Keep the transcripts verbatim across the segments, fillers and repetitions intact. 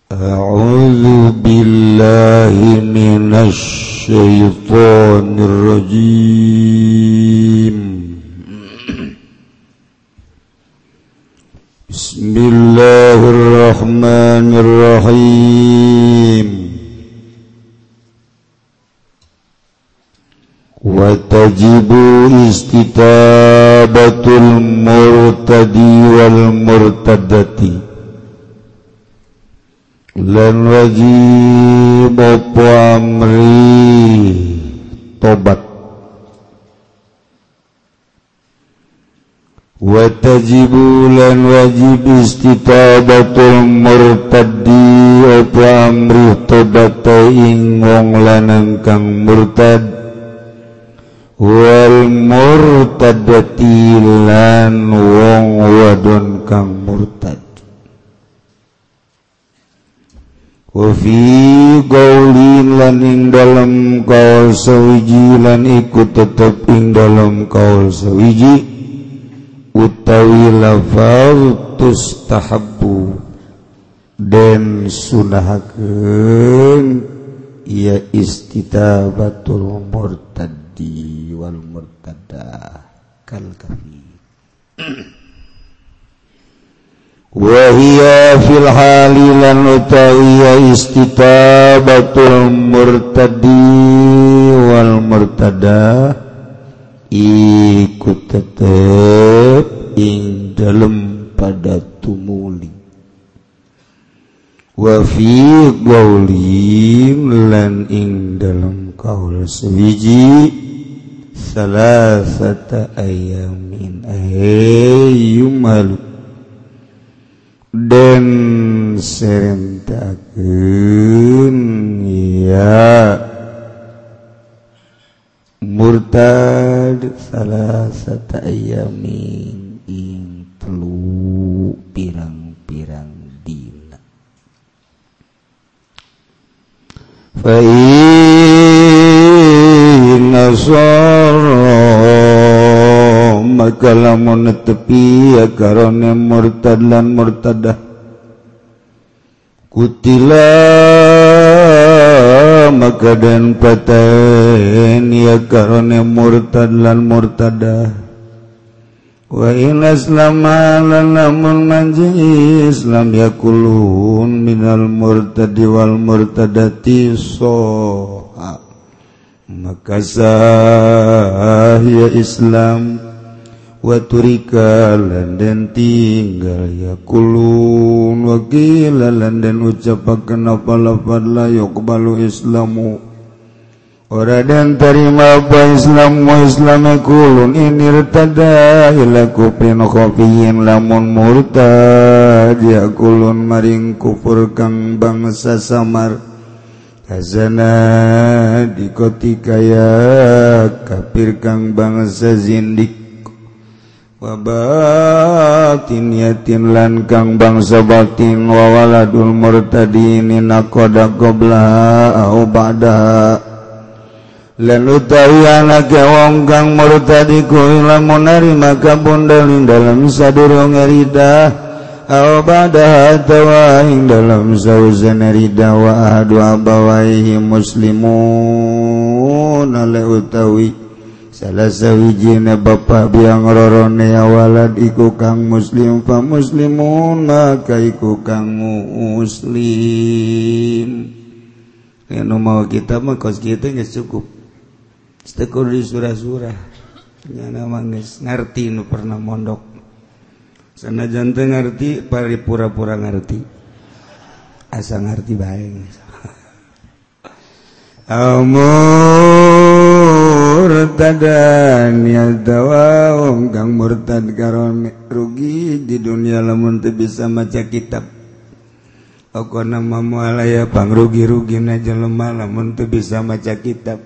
A'udzu billahi minasy syaithanir rajim. Bismillahirrahmanirrahim. Wa tajibu istitabatul murtadi wal murtadati. Lan wajib apa amri tobat. Wa tajibu lan wajib istitabatul murtadi apa amri tobat ing wong lanang kang murtad wal murtadati lan wong wadon kang murtad. Wa fi qaulin lan ing dalem kaul sawiji lan iku tetep ing dalem kaul sawiji utawi lafaz tustahabbu den sunahakeun ya istitabatul murtadi wal murtada kal kafi. Wa hiya fil halilan utawi istitabatul murtadi wal murtada iku tetep ing dalem pada tumuli. Wa fi qaulin lan ing dalem kaul sawiji salasata ayamin ayyumal dan serentakeun ya murtad salasata ayamin ing telu pirang-pirang dina. Fa inna maka lamun netepi ya karone murtad lan murtadah kutila maka dan paten ya karone murtad lan murtadah wa in aslama lan lamun manji Islam yakulun minal murtadi wal murtadati soha maka sah ya Islam wa turika lan den tinggal yakulun wa qila lan den ucapaken apa lafaz la yuqbalu islamu ora den terima apa Islam wa Islam yakulun in irtada ila kufrin khafiyin lamun murtad yakulun maring kufur kang bangsa samar hazana dikotika ya kafir kang bangsa zindik wa batin yatin lan kang bangsa batin wa waladul murtadin naqada qabla au ba'da lan utawi anake wong kang murtadi ku lamun narima kabundal dalam sadurunge ridah au ba'da tawa ing dalam sauzana ridah wa ahadu abawaihi muslimun ala utawi salah sawijina bapak biang rorone awalad iku kang muslim fa muslimun maka iku kang muslim. Anu mau kita mah kos kita geus cukup. Stekur di surah-surah. Nya nama geus ngarti nu pernah mondok. Sanajan teu ngarti pari pura-pura ngarti. Asa ngarti bae. Murtadan ya dawa wong kang murtad karon rugi di dunia lamun teu bisa maca kitab. Okona mamualaya pangrugi-rugina jelema lamun teu bisa maca kitab.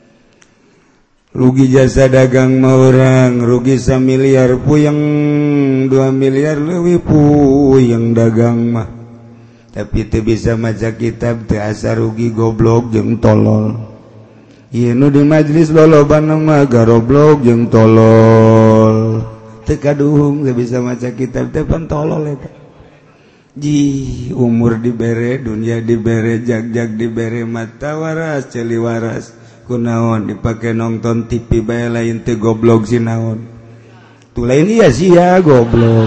Rugi jasa dagang mah urang, rugi samiliar puyeng dua miliar leuwih puyeng dagang mah. Tapi teu bisa maca kitab teu asa rugi goblok jeung tolol. Ieu nu di majelis lolobana mah garoblok jeung tolol. Teu kaduhung teu bisa maca kitab teh pan tolol eta. ji umur dibere dunia dibere jag-jag dibere mata waras celi waras kunaon dipakai nonton T V bae lain teu goblok sinaon tu lain iya sia goblok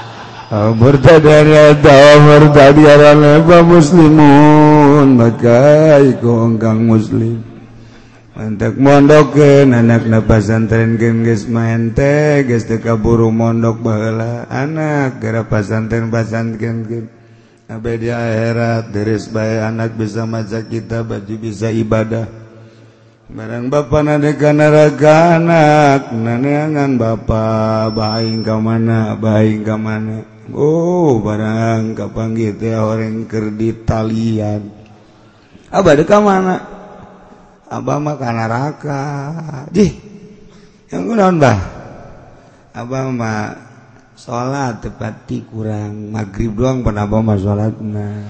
murtadana ta murtadana fa muslimun maka iku engkang muslim mantak mondokeun anakna pasantrenkeun geus main teh geus teu kaburu mondok baheula anak gara pasantren pasantrenkeun abe di akhirat deres bae anak bisa maca kitab baju bisa ibadah barang bapa nade ka neraka anak naneangan bapa baing ka mana baing ka mana oh barang kapanggih teh horeng keur ditalian abah deuk ka mana abah mah ka neraka jih yang kunaon bah abah mah salat tepati kurang maghrib doang pan abah mah salatna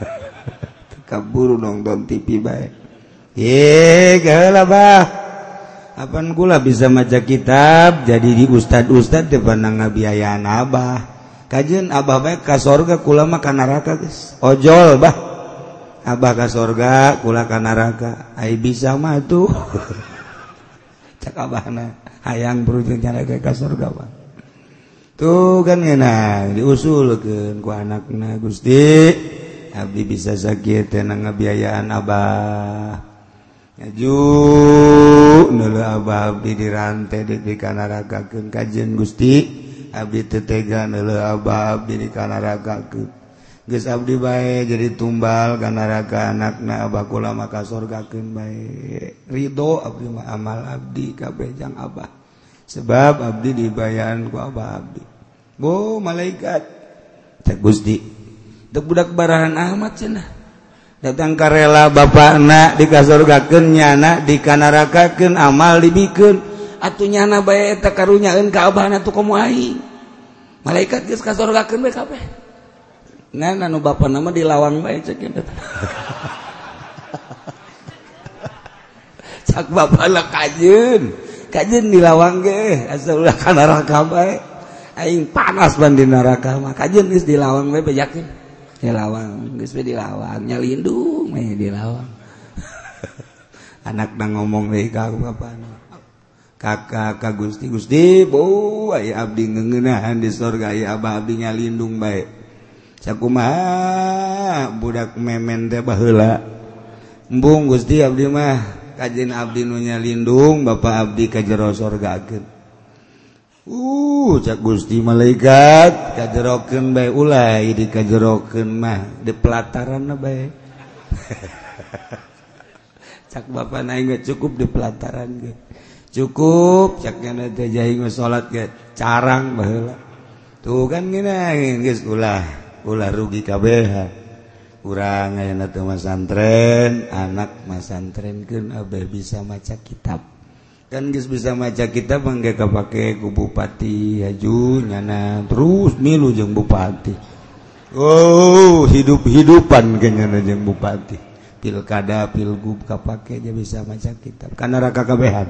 kaburu nonton T V bae ye geula bah apan kula bisa maca kitab jadi di ustad-ustad teh pandang ngabiayaan abah kajeun abah bae ka sorga kula mah ka neraka geus ojol bah abah ka sorga kula ka neraka ai bisa mah tuh cak abahna hayang berujung neraka ka sorga Pak tuh kan ngeunah diusulkeun ku anakna Gusti abdi bisa sakit teh ngabiayaan abah ngaju neuleuh abah abdi dirantai di ka nerakakeun kajeun Gusti abdi teu tega neuleuh abah abdi di ka nerakakeun geus abdi bae jadi tumbal ka neraka anakna abah kula mah ka sorgakeun bae ridho abdi mah amal abdi kabeh jang abah sebab abdi dibayaran ku abah abdi bo malaikat cek Gusti teu budak barahan amat cenah datang ka rela bapakna di ka sorgakeun nyana di ka nerakakeun amal dibikeun atuh nyana bae eta karunyaeun ka abahna tu komo aing malaikat geus ka sorgakeun bae kabeh ngan anu bapana mah dilawang bae cek kitu cak bapana kajeun kajeun dilawang ge asa ulah ka neraka bae aing panas ban di neraka mah kajeun geus dilawang bae bejakeun dilawang geus bae dilawang nyalindung bae dilawang anakna ngomong deui ka bapana kakak ka Gusti Gusti bo aya abdi ngeuneunahan di sorga aya abah abdi nyalindung bae sakumaha budak memen teh baheula embung Gusti abdi mah kajeun abdi nu nyalindung bapa abdi ka jero sorgakeun uh cak Gusti malaikat kajerokeun bae ulah di kajerokeun mah di pelataranna bae cak bapa aing cukup di pelataran ge cukup cak nya teh jaing salat ge carang baheula tuh kan gina geus ulah ulah rugi kabehan urang ayeuna teu masantren anak masantrenkeun abeh bisa maca kitab kan geus bisa maca kitab mangga kapake ku bupati haju nyana terus milu jeung bupati oh hidup-hidupan kenyana jeung bupati pilkada pilgub kapake aja bisa maca kitab kana neraka kabehan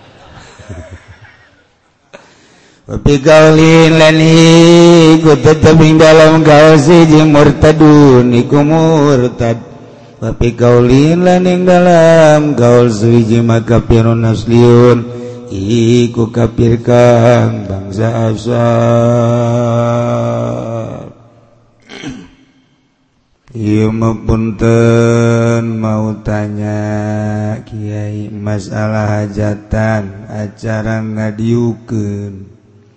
Wapi kaulin lani ku tetap ing dalam kaul siji murtadun iku murtad Wapi kaulin lani ing dalam kaul siji makapirun asliun iku kafir kang bangsa asal ieu punten mau tanya kiai masalah hajatan acara ngadiukeun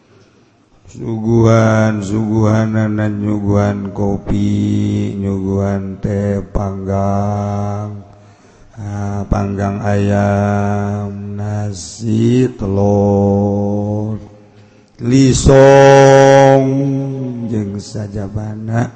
suguhan suguhanan nyuguhan kopi nyuguhan teh panggang ah, panggang ayam nasi telur lisong jeung sajabana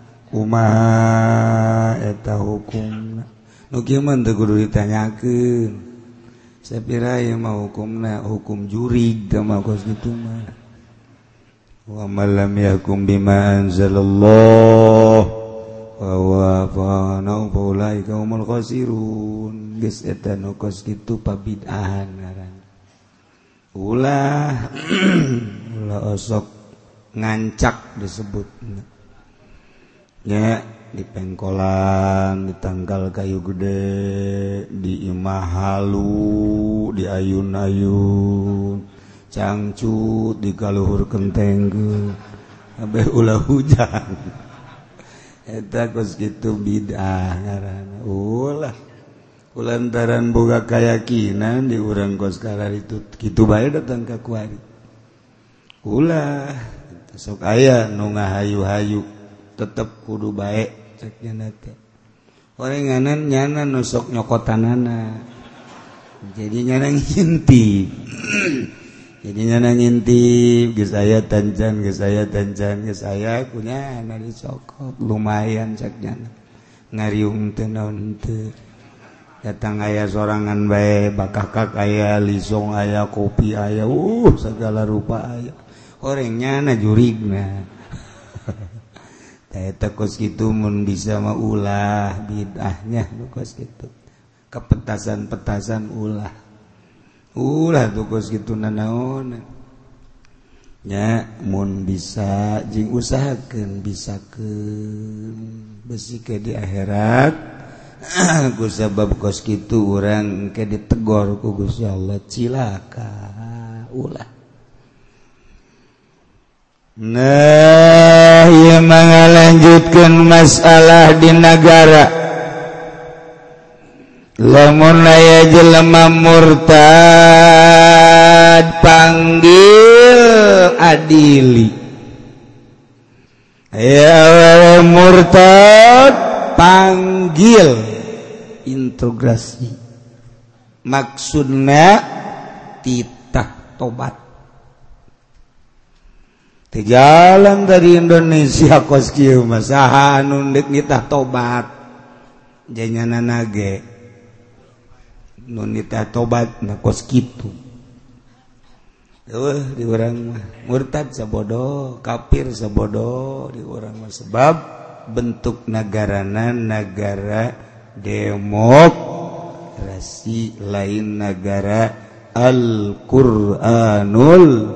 kumaha eta hukumna nu kieu mah teu kudu ditanyakeun sapira ieu mah hukumna hukum jurig teh mah kos kitu mah wa man lam yahkum bima anzalallah wa huwa fa'ana faulaika humul khasirun geus eta nu kos kitu pabid'ahan ngaran ulah ulah osok ngancak disebutna nya di pengkolan, di tangkal kayu gede, di imah halu, di ayun-ayun, cangcut, di kaluhur kentengkeun, abeh ulah hujan. Eta kos kitu bid'ah ngaranna. Ulah kulantaran boga keyakinan di urang kos karar itu kitu bae datang ka kuari. Ulah sok aya nu ngahayu-hayu tetep kudu bae cek nya teh. Orenganan nyana nu sok nyokotanana. Jadi nyana ngintip. Jadi nyana ngintip geus aya tancan, geus aya tancan, geus aya kunyana dicokot lumayan cek nyana. Ngariung teu naon teu. Datang aya sorangan bae bakakak aya lisong aya kopi aya uh segala rupa aya. Orangnya na jurigna. Eta kos kitu mun bisa mah ulah bid'ahnya kos kitu. Kepetasan-petasan ulah. Ulah tuh kos kitu nanaon. Nya mun bisa jeung usahakeun bisakeun besi ke di akhirat. Ku sabab kos kitu urang ke ditegor ku Gusti Allah cilaka. Ulah. Nah, ia mengalanjutkan masalah di negara. Lamun aya jelema murtad panggil adili. Aya murtad panggil integrasi. Maksudna titah tobat. Teu jalan dari Indonesia kos kieu mah saha anu deuk nitah tobat. Janyana nage. Nu nitah tobat na kos kitu. Eueuh di urang mah murtad sabodo, kafir sabodo di urang mah sebab bentuk nagarana negara demokrasi lain negara Al-Qur'anul.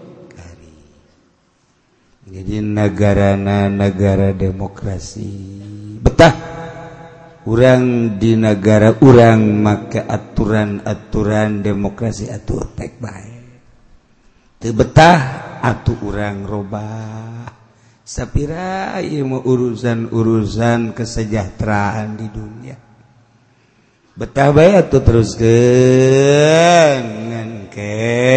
Jadi negarana negara demokrasi. Betah urang di negara urang make aturan-aturan demokrasi atuh tek bae. Teu betah atuh urang robah. Sapira ieu mah urusan-urusan kesejahteraan di dunia. Betah bae atuh teruskeun ngan ke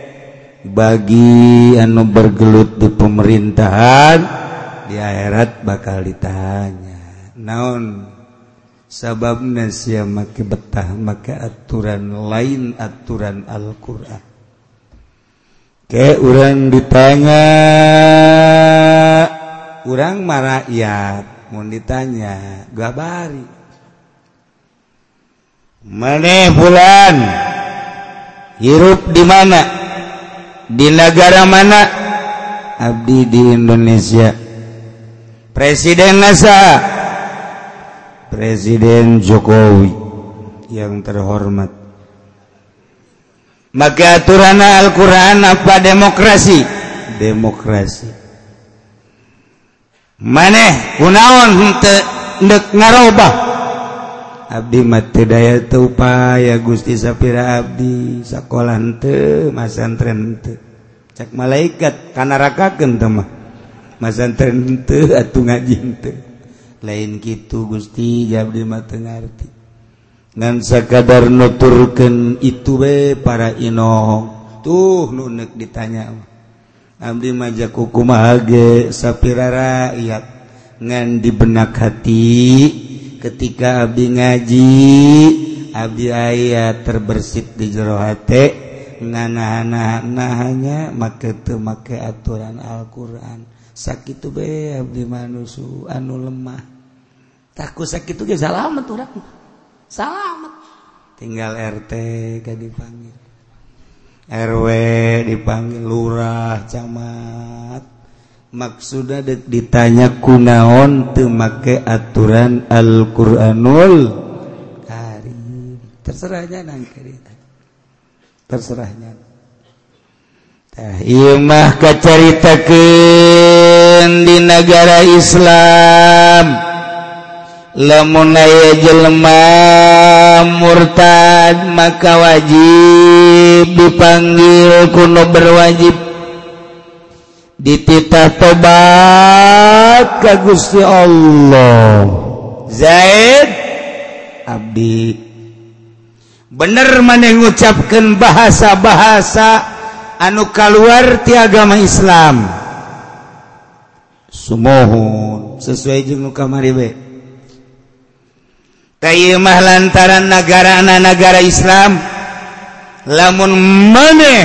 bagi anu bergelut di pemerintahan di akhirat bakal ditanya naon sababna sia make betah make aturan lain aturan Al-Qur'an ke urang ditanya urang mah rakyat mun ditanya gabari maneh fulan hirup di mana di negara mana? Abdi di Indonesia. Presiden nasa? Presiden Jokowi yang terhormat. Maka aturan Al-Quran apa demokrasi? Demokrasi. Maneh kunaon henteu ndek ngarobah? Abdi mah teu daya teu upaya Gusti sapira abdi sakola henteu masantren henteu cak malaikat kanarakakeun teh mah masantren henteu atuh ngaji henteu lain kitu Gusti abdi mah teu ngarti ngan sakadar nuturkeun itu we para inohong tuh nu neuk ditanya abdi mah jak kumaha ge sapira rakyat ngan di benak hati ketika abdi ngaji abdi aya terbersit di jero hate nganahan-nahannya make teu make aturan Al-Qur'an sakitu bae abdi manusu anu lemah takut sakitu ge salamet urang salamet tinggal R T ka dipanggil R W dipanggil lurah camat maksudnya ditanya kunaon teu make aturan Al-Qur'anul Karim terserahnya nang kita terserahnya ieu mah kacaritakeun di negara Islam lamun aya jelema murtad maka wajib dipanggil kuno berwajib dititah tobat ka Gusti Allah. Zaid abdi bener maneh ngucapkeun bahasa-bahasa anu kaluar ti agama Islam sumohun sesuai jeung nu kamari we tayeu mah lantaran nagarana negara Islam lamun maneh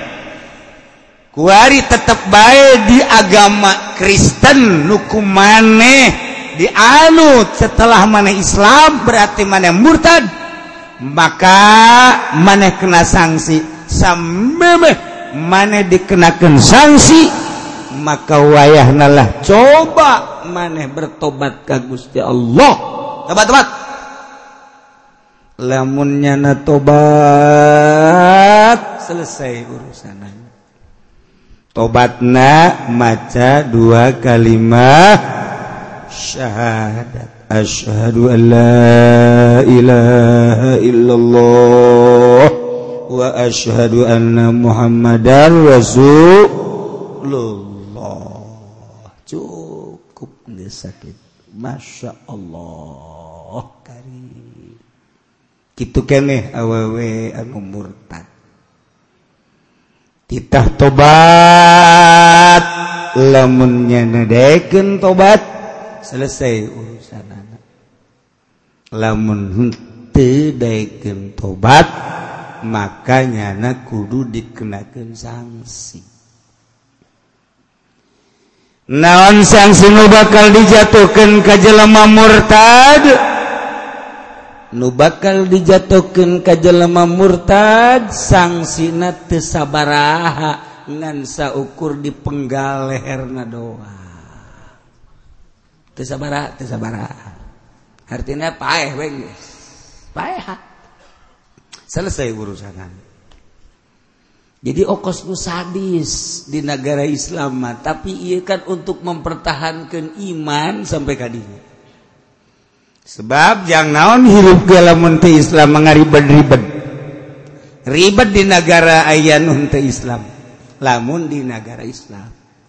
kuari tetep bae di agama Kristen nu kumaneh dianut setelah maneh Islam berarti maneh murtad maka maneh kena sanksi samemeh maneh dikenakeun sanksi maka wayahna lah coba maneh bertobat ka Gusti Allah. Tobat-tobat lamun nyana tobat selesai urusanna. Tobatna maca dua kalimat syahadat asyhadu an la ilaha illallah wa asyhadu anna muhammadar rasulullah. Cukup geus sakit. Masya Allah karim. Kitu keneh awewe anu murtad. Titah tobat lamun nyana daekeun tobat selesai urusanana. Lamun teu daekeun tobat maka nyana kudu dikenakeun sanksi. Naon sanksi nu bakal dijatuhkeun ka jelema murtad? Nu bakal dijatuhkeun ka jelema murtad sangsina teu sabaraha ngan saukur dipenggal leherna doang. Teu sabaraha, teu sabaraha. Artinya paeh we geus. Paeh. Selesai urusan. Jadi okos nu sadis di negara Islam tapi ieu kan untuk mempertahankan iman sampai ka dieu. Sebab jang naon hirup ge lamun teu Islam mangaribet-ribet. Ribet di negara aya nu teu Islam. Lamun di negara Islam.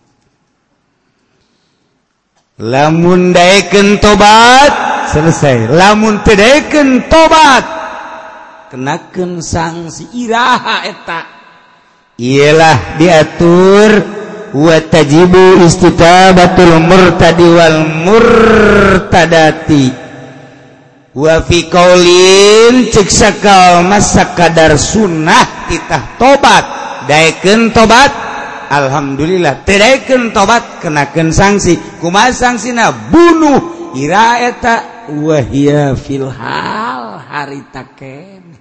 Lamun daekeun tobat selesai. Lamun teu daekeun tobat kenakeun sanksi iraha eta. Ialah diatur wa tajibu istitabatul murtadi wal murtadati wa fi qaulin cek sakal masakadar sunnah titah tobat daekeun tobat alhamdulillah teu daekeun tobat kenakeun sanksi kumaha sangsina bunuh ira eta wa hiya fil hal harita keneh.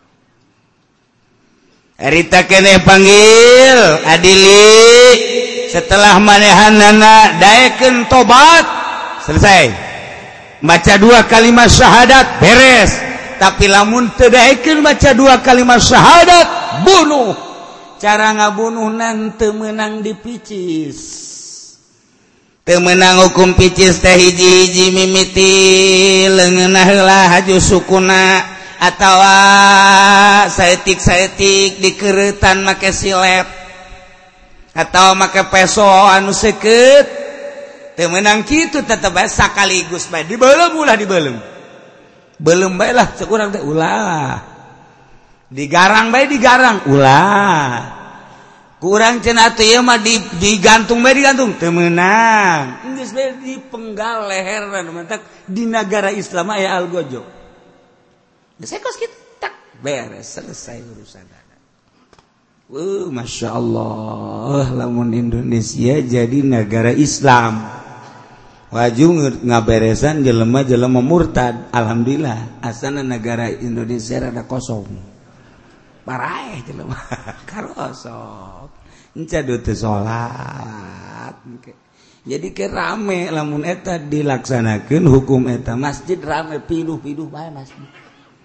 Harita keneh panggil adili setelah manehanana daekeun tobat selesai baca dua kalimat syahadat beres. Tapi lamun teu daekeun baca dua kalimat syahadat bunuh. Cara ngabunuhna teu meunang dipicis, teu meunang hukum picis teh hiji-hiji mimiti leungeunna heula haju sukuna atawa saetik-saetik dikeuretan make silep atau make peso anu seukeut teu meunang kitu tetep bae sakaligus bae dibeulem ulah dibeulem beulem bae lah cek urang teh ulah digarang bae digarang ulah kurang cenah teh ieu mah digantung bae digantung teu meunang geus bae dipenggal leherna mantap di negara Islam aya algojo. Sekos kita beres selesai urusan. Uh, masya Allah, lamun Indonesia jadi negara Islam. Waju ngaberesan jelema-jelema murtad. Alhamdulillah, asana negara Indonesia rada kosong. Paraeh jelema karosong. Encadu teu salat. Jadi ke rame lamun eta dilaksanakeun hukum eta masjid rame pinuh-pinuh bae masjid.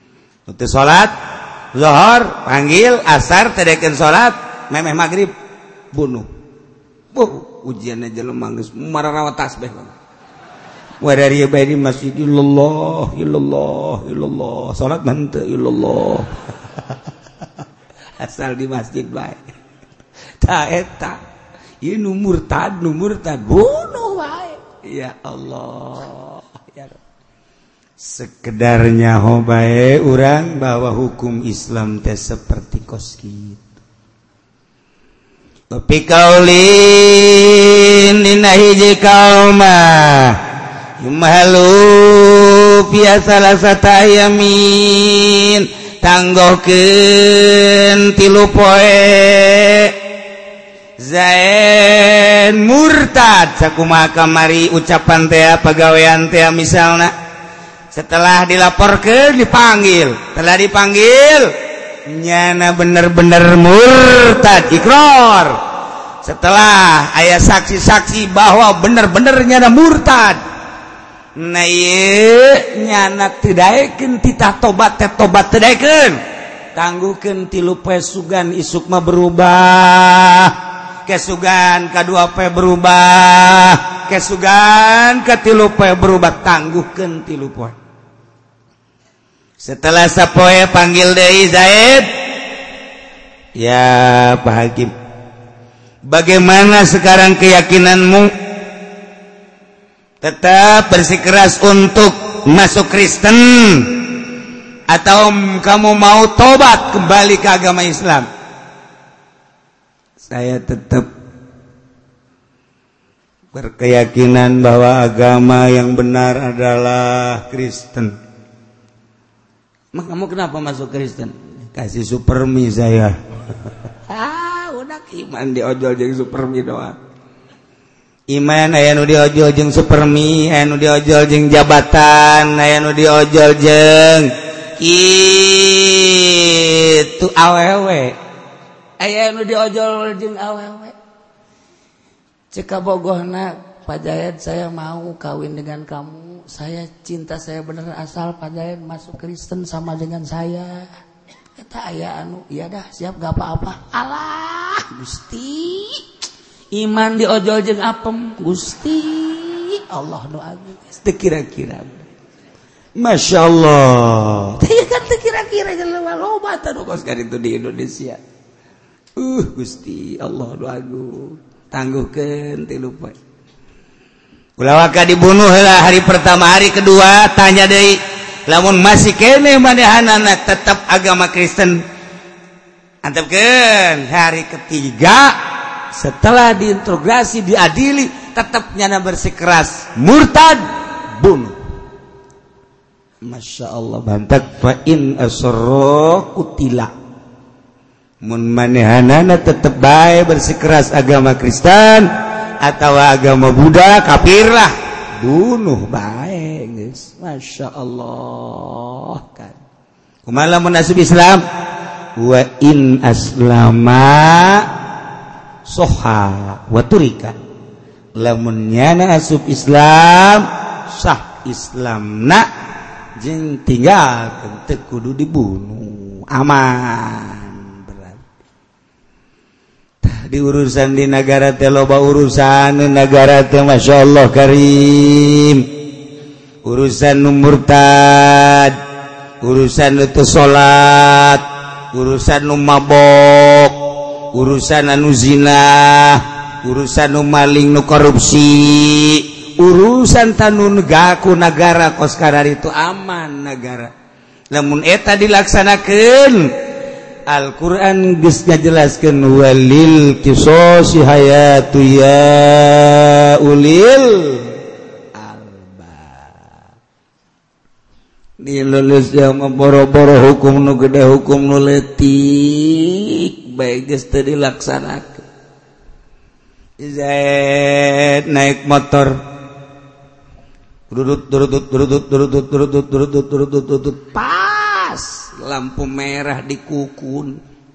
Teu salat zuhur panggil asar teu daekeun salat memeh magrib bunuh. Oh, ujiannya jelema geus mararawa tasbih. Wa dari bae di masjid illallah illallah illallah salat manteu illallah. Asal di masjid bae. Ta eta ieu nu murtad nu murtad bunuh bae. Ya Allah. Ya Rabb. Sekedarnya hobae urang bahwa hukum Islam teh seperti kos kitu. Tapi kaulin dina hiji kauma yumalu biasa lasata yamin tanggohkeun tilu poe zain murtad sakumaha kamari ucapan teh pagawean teh misalna setelah dilaporkan dipanggil setelah dipanggil nyana bener-bener murtad ikrar setelah aya saksi-saksi bahwa bener-bener nyana murtad nah ieu nyana teu daekeun titah tobat teh tobat teu daekeun tangguhkeun tilu poe sugan isuk mah berubah kesugan kadua poe berubah kesugan katilu poe berubah tangguhkeun tilu poe. Setelah sapoe panggil deui Zaid. Ya Pak Hakim, bagaimana sekarang keyakinanmu? Tetap bersikeras untuk masuk Kristen atau kamu mau tobat kembali ke agama Islam? Saya tetap berkeyakinan bahwa agama yang benar adalah Kristen. Mak kamu kenapa masuk Kristen? Kasih supermi saya. Ah, udah iman diojol jeung supermi doang. Iman aya nu diojol jeung supermi, aya nu diojol jeung jabatan, aya nu diojol jeung kitu awewe. Aya nu diojol jeung awewe. Cek bogohna Pak Jayad, saya mau kawin dengan kamu. Saya cinta, saya bener asal Pak Jayad masuk Kristen sama dengan saya. Eta aya anu, iya dah siap gak apa-apa. Alah Gusti, iman diojol jeung apem Gusti. Allah doa teu kira-kira. Masya Allah. Teu kan teu kira-kira jelema loba tah kos itu di Indonesia. Uh Gusti Allah doa tangguhkeun tilu poe. Ulah waka dibunuh lah hari pertama, hari kedua tanya deui, lamun masih kene manehanana tetap agama Kristen, antepkeun hari ketiga setelah diintegrasi diadili tetap nyana bersikeras murtad bunuh. Masya Allah bantak fa in asra kutila. Mun manehanana tetap bae bersikeras agama Kristen atau agama Buddha kafir lah bunuh bae geus. Masya Allah kan kumaha lamun asup Islam wa in aslama soha wa turika lamun nyana asup Islam sah Islamna jeung tinggalkeun teu kudu dibunuh aman. Di urusan di negara teh loba urusan negara teh Masya Allah karim, urusan nu murtad, urusan nu teu salat, urusan nu mabok, urusan anu zina, urusan nu maling nu korupsi, urusan tanu negaku negara kos kadar itu aman negara. Lamun eta dilaksanakeun Al-Quran geus ngajelaskeun walil qisasi hayatu ya ulil albab. Di Indonesia mah boro-boro hukum nu gede hukum nu leutik bae geus teu dilaksanakeun. Zaid naik motor durut durut durut durut durut durut durut durut durut pas lampu merah dikukun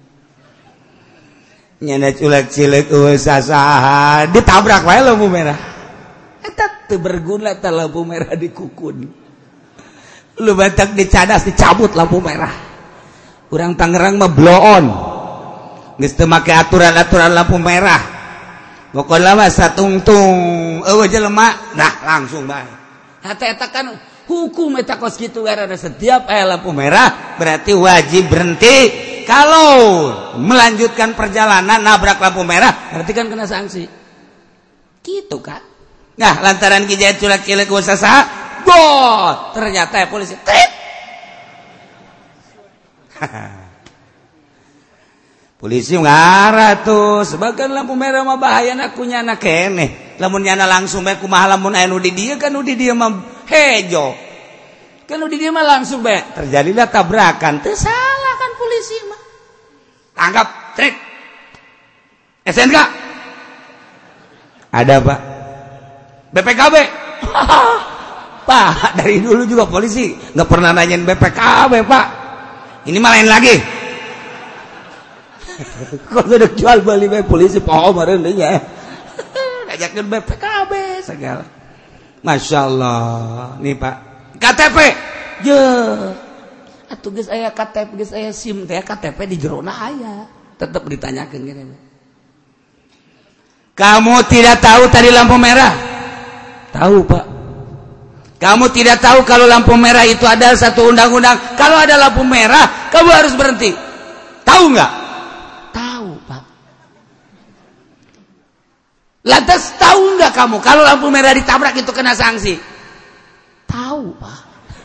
nyana culek cilek eueuh sasaha ditabrak wae lampu merah eta teu berguna ta lampu merah dikukun lu batak dicadas dicabut lampu merah. Urang Tangerang mah blow on geus teu make aturan-aturan lampu merah pokokna mah satungtung eueuh jelema dah langsung bae hate eta kan hukum eta kos kitu karena setiap aya lampu merah berarti wajib berhenti kalau melanjutkan perjalanan nabrak lampu merah berarti kan kena sanksi gitu kan nah lantaran kijaya culak-cilik usaha bot ternyata ya polisi trit polisi ngarah tuh sebagian lampu merah mah bahaya nak kunyana keneh lamun nyana langsung bae kumaha lamun aya nu di dieu kan nu di dieu mah hejo kan nu di dieu mah langsung bae terjadilah tabrakan teu salah kan polisi mah tangkap trik S N K ada Pak B P K B Pak dari dulu juga polisi nggak pernah nanyain B P K B Pak ini mah lain lagi kok udah jual beli bae polisi poho meureun deui nya ngajakeun B P K B segala Masya Allah nih Pak K T P je atuh geus aya K T P geus aya SIM teh K T P di jerona aya tetep ditanyakeun gini kamu tidak tahu tadi lampu merah tahu Pak kamu tidak tahu kalau lampu merah itu ada satu undang-undang kalau ada lampu merah kamu harus berhenti tahu nggak tahu Pak lantas tahu nggak kamu kalau lampu merah ditabrak itu kena sanksi tahu Pak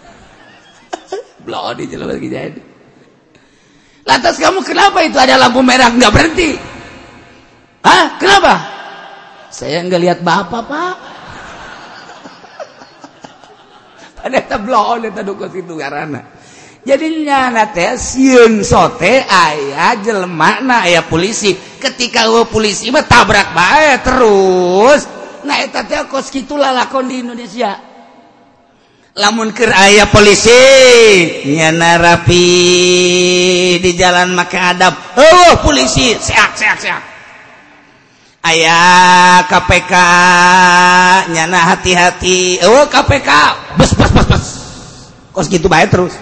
belum dijelas lagi jadi lantas kamu kenapa itu ada lampu merah nggak berhenti hah kenapa saya nggak lihat bapak Pak ada belum ada dukun itu karena jadinya nate sieun sote aya jelema aya polisi ketika eueuh polisi mah tabrak bae terus nah eta teh kos kitu lalakon di Indonesia lamun keur aya polisi nyana rapi di jalan make adab eueuh polisi seak seak seak aya K P K nyana hati-hati eueuh K P K bes bes bes bes kos kitu bae terus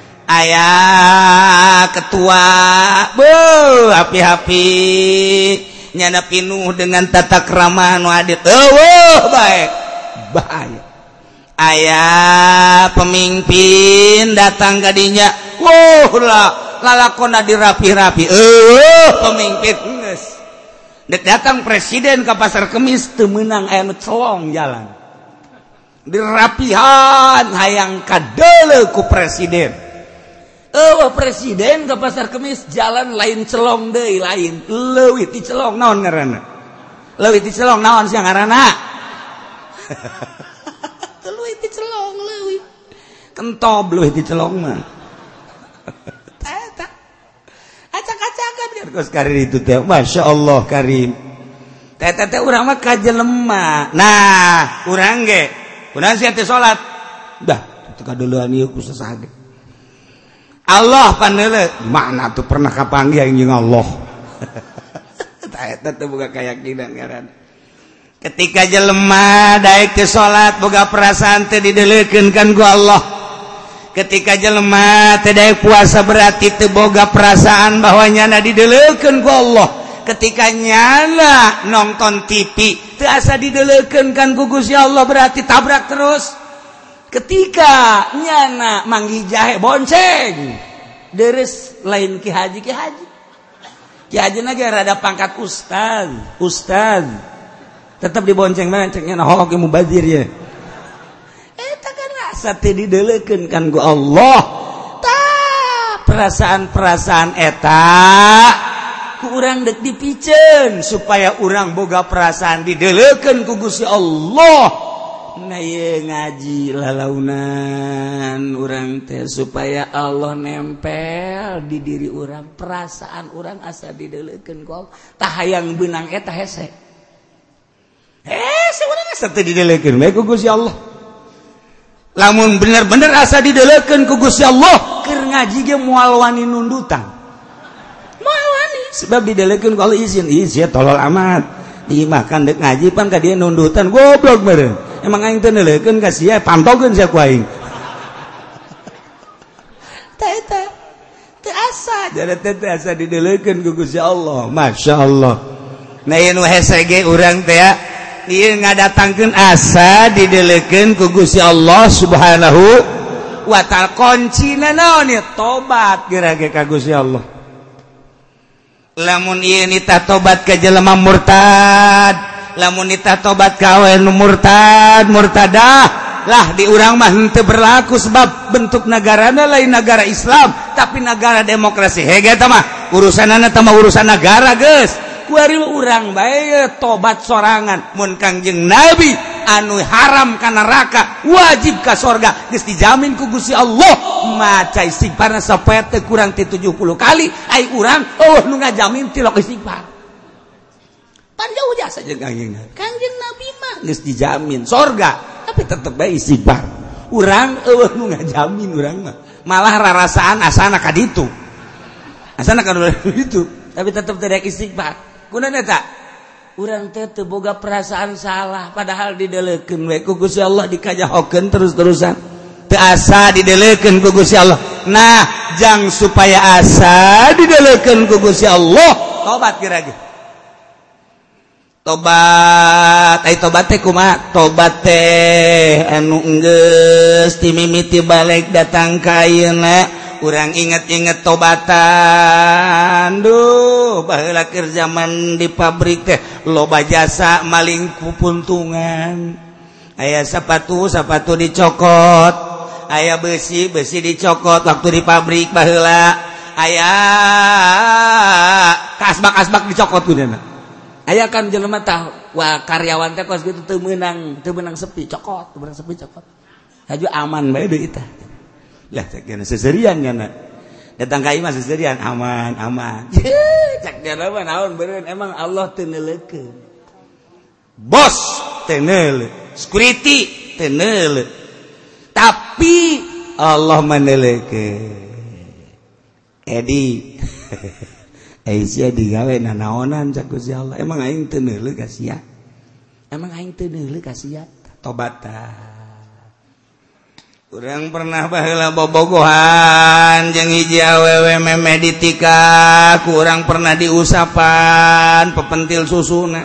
aya ketua beuh hapi-hapi nyana pinuh dengan tata krama nu adit eueuh bae bahaya aya pemimpin datang ka dinya wah lah lalakonna dirapi-rapi eueuh pemimpin geus dek datang presiden ke pasar Kemis teu meunang aya nu celong jalan dirapihan hayang kadeuleu ku presiden eueuh presiden ke pasar Kemis jalan lain celong deui lain leuwih ti celong naon ngaranna leuwih ti celong naon sia ngaranna leuwih ti celong leuwih kentob leuwih ti celong mah eta acak-acakan biar kos karir itu teh Masya Allah karim teh teh teh urang mah kajelema nah urang ge kunaon sia teh salat dah teu kadeulean ieu ku sasage Allah pandeule mana tuh pernah kapanggih anjing Allah tah eta teh boga keyakinan ngaran ketika jelema daek teh salat boga perasaan teh dideuleukeun kan ku Allah ketika jelema teh daek puasa berarti teu boga perasaan bahwa nyana dideuleukeun ku Allah ketika nyana nonton T V teu asa dideuleukeun kan ku Gusti Allah berarti tabrak terus ketika nyana manggih jahe bonceng deres lain ki haji ki haji ki haji na ge rada pangkat ustaz ustaz tetep dibonceng bae cek nyana hok ge mubazir ye eta kan asa teh dideuleukeun kan ku Allah tah perasaan-perasaan eta ku urang dek dipikeun supaya urang boga perasaan dideuleukeun ku Gusti Allah nah ye ngaji lalaunan urang teh supaya Allah nempel di diri urang perasaan urang asa dideuleukeun ku Allah tah hayang beunang eta hese hese urang asa teh dideuleukeun bae ku Gusti Allah lamun bener-bener asa dideuleukeun ku Gusti Allah keur ngaji ge moal wani nundutan moal wani sebab dideuleukeun ku Allah izin izin tolol amat dimakan dek ngaji pan ka dieu nundutan goblok meureun emang aing teh neuleukeun ka sia pantogeun sia ku aing teh teh teu asa asa jadi teh asa didelekeun ku Gusti Allah. Masyaallah. Nah ieu nu hese ge urang teh ya ieu ngadatangkeun asa didelekeun ku Gusti Allah Subhanahu wa ta'ala. Kuncina naon ieu? Tobat geura ge ka Gusti Allah. Lamun ieu nita tobat ka jelema murtad, lamun nita tobat ka awe nu murtad, murtadah lah di urang mah henteu berlaku sebab bentuk negarana lain negara Islam tapi negara demokrasi. Hege eta mah urusanana teh mah urusan negara geus. Kuari urang bae tobat sorangan mun Kangjeng Nabi anu haram ka neraka wajib ka surga geus dijamin ku Gusti Allah. Maca istighfarna sapoe teh kurang ti tujuh puluh kali ai urang oh nu ngajamin tilok istighfar. Pan jauh jasa jeung Kangjeng Nabi. Kangjeng Nabi mah geus dijamin surga. Tapi tetep bae istighfar. Urang eueuh nu ngajamin urang mah. Malah rarasaan asana ka ditu. Asana ka ditu, tapi tetep teu istighfar. Kunaon eta? Urang teh teu boga perasaan salah padahal didelekeun we ku Gusti Allah dikajahokeun terus-terusan. Teu asa didelekeun ku Gusti Allah. Nah, jang supaya asa didelekeun ku Gusti Allah, tobat kira-kira. Tobat ai tobat teh kumaha? Tobat teh anu enggeus ti mimiti balik datang ka ayeuna urang inget-inget tobatan. Duh baheula keur zaman di pabrik teh loba jasa maling pupuntungan. Aya sapatu sapatu dicokot, aya besi besi dicokot waktu di pabrik baheula, aya kasbak-kasbak dicokot kunaon. Aya kan jelema tah wah karyawan teh kos kitu teu meunang teu meunang sepi cokot, teu meunang sepi cokot. Haju aman bae deui tah. Lah cek kana seserian nya. Datang ka imah seserian aman, aman. Cek jelema naon beureun emang Allah teu neuleukeun. Bos teu neuleuh, security teu neuleuh. Tapi Allah meneuleukeun. Edi Aisyah digawe nanaonan cak Gusti Allah. Emang aing teu neuleuh ka sia. Emang aing teu neuleuh ka sia. Tobatan. Urang pernah baheula bobogohan jeung hiji awewe memeh ditika, kurang pernah diusapan pepentil susuna.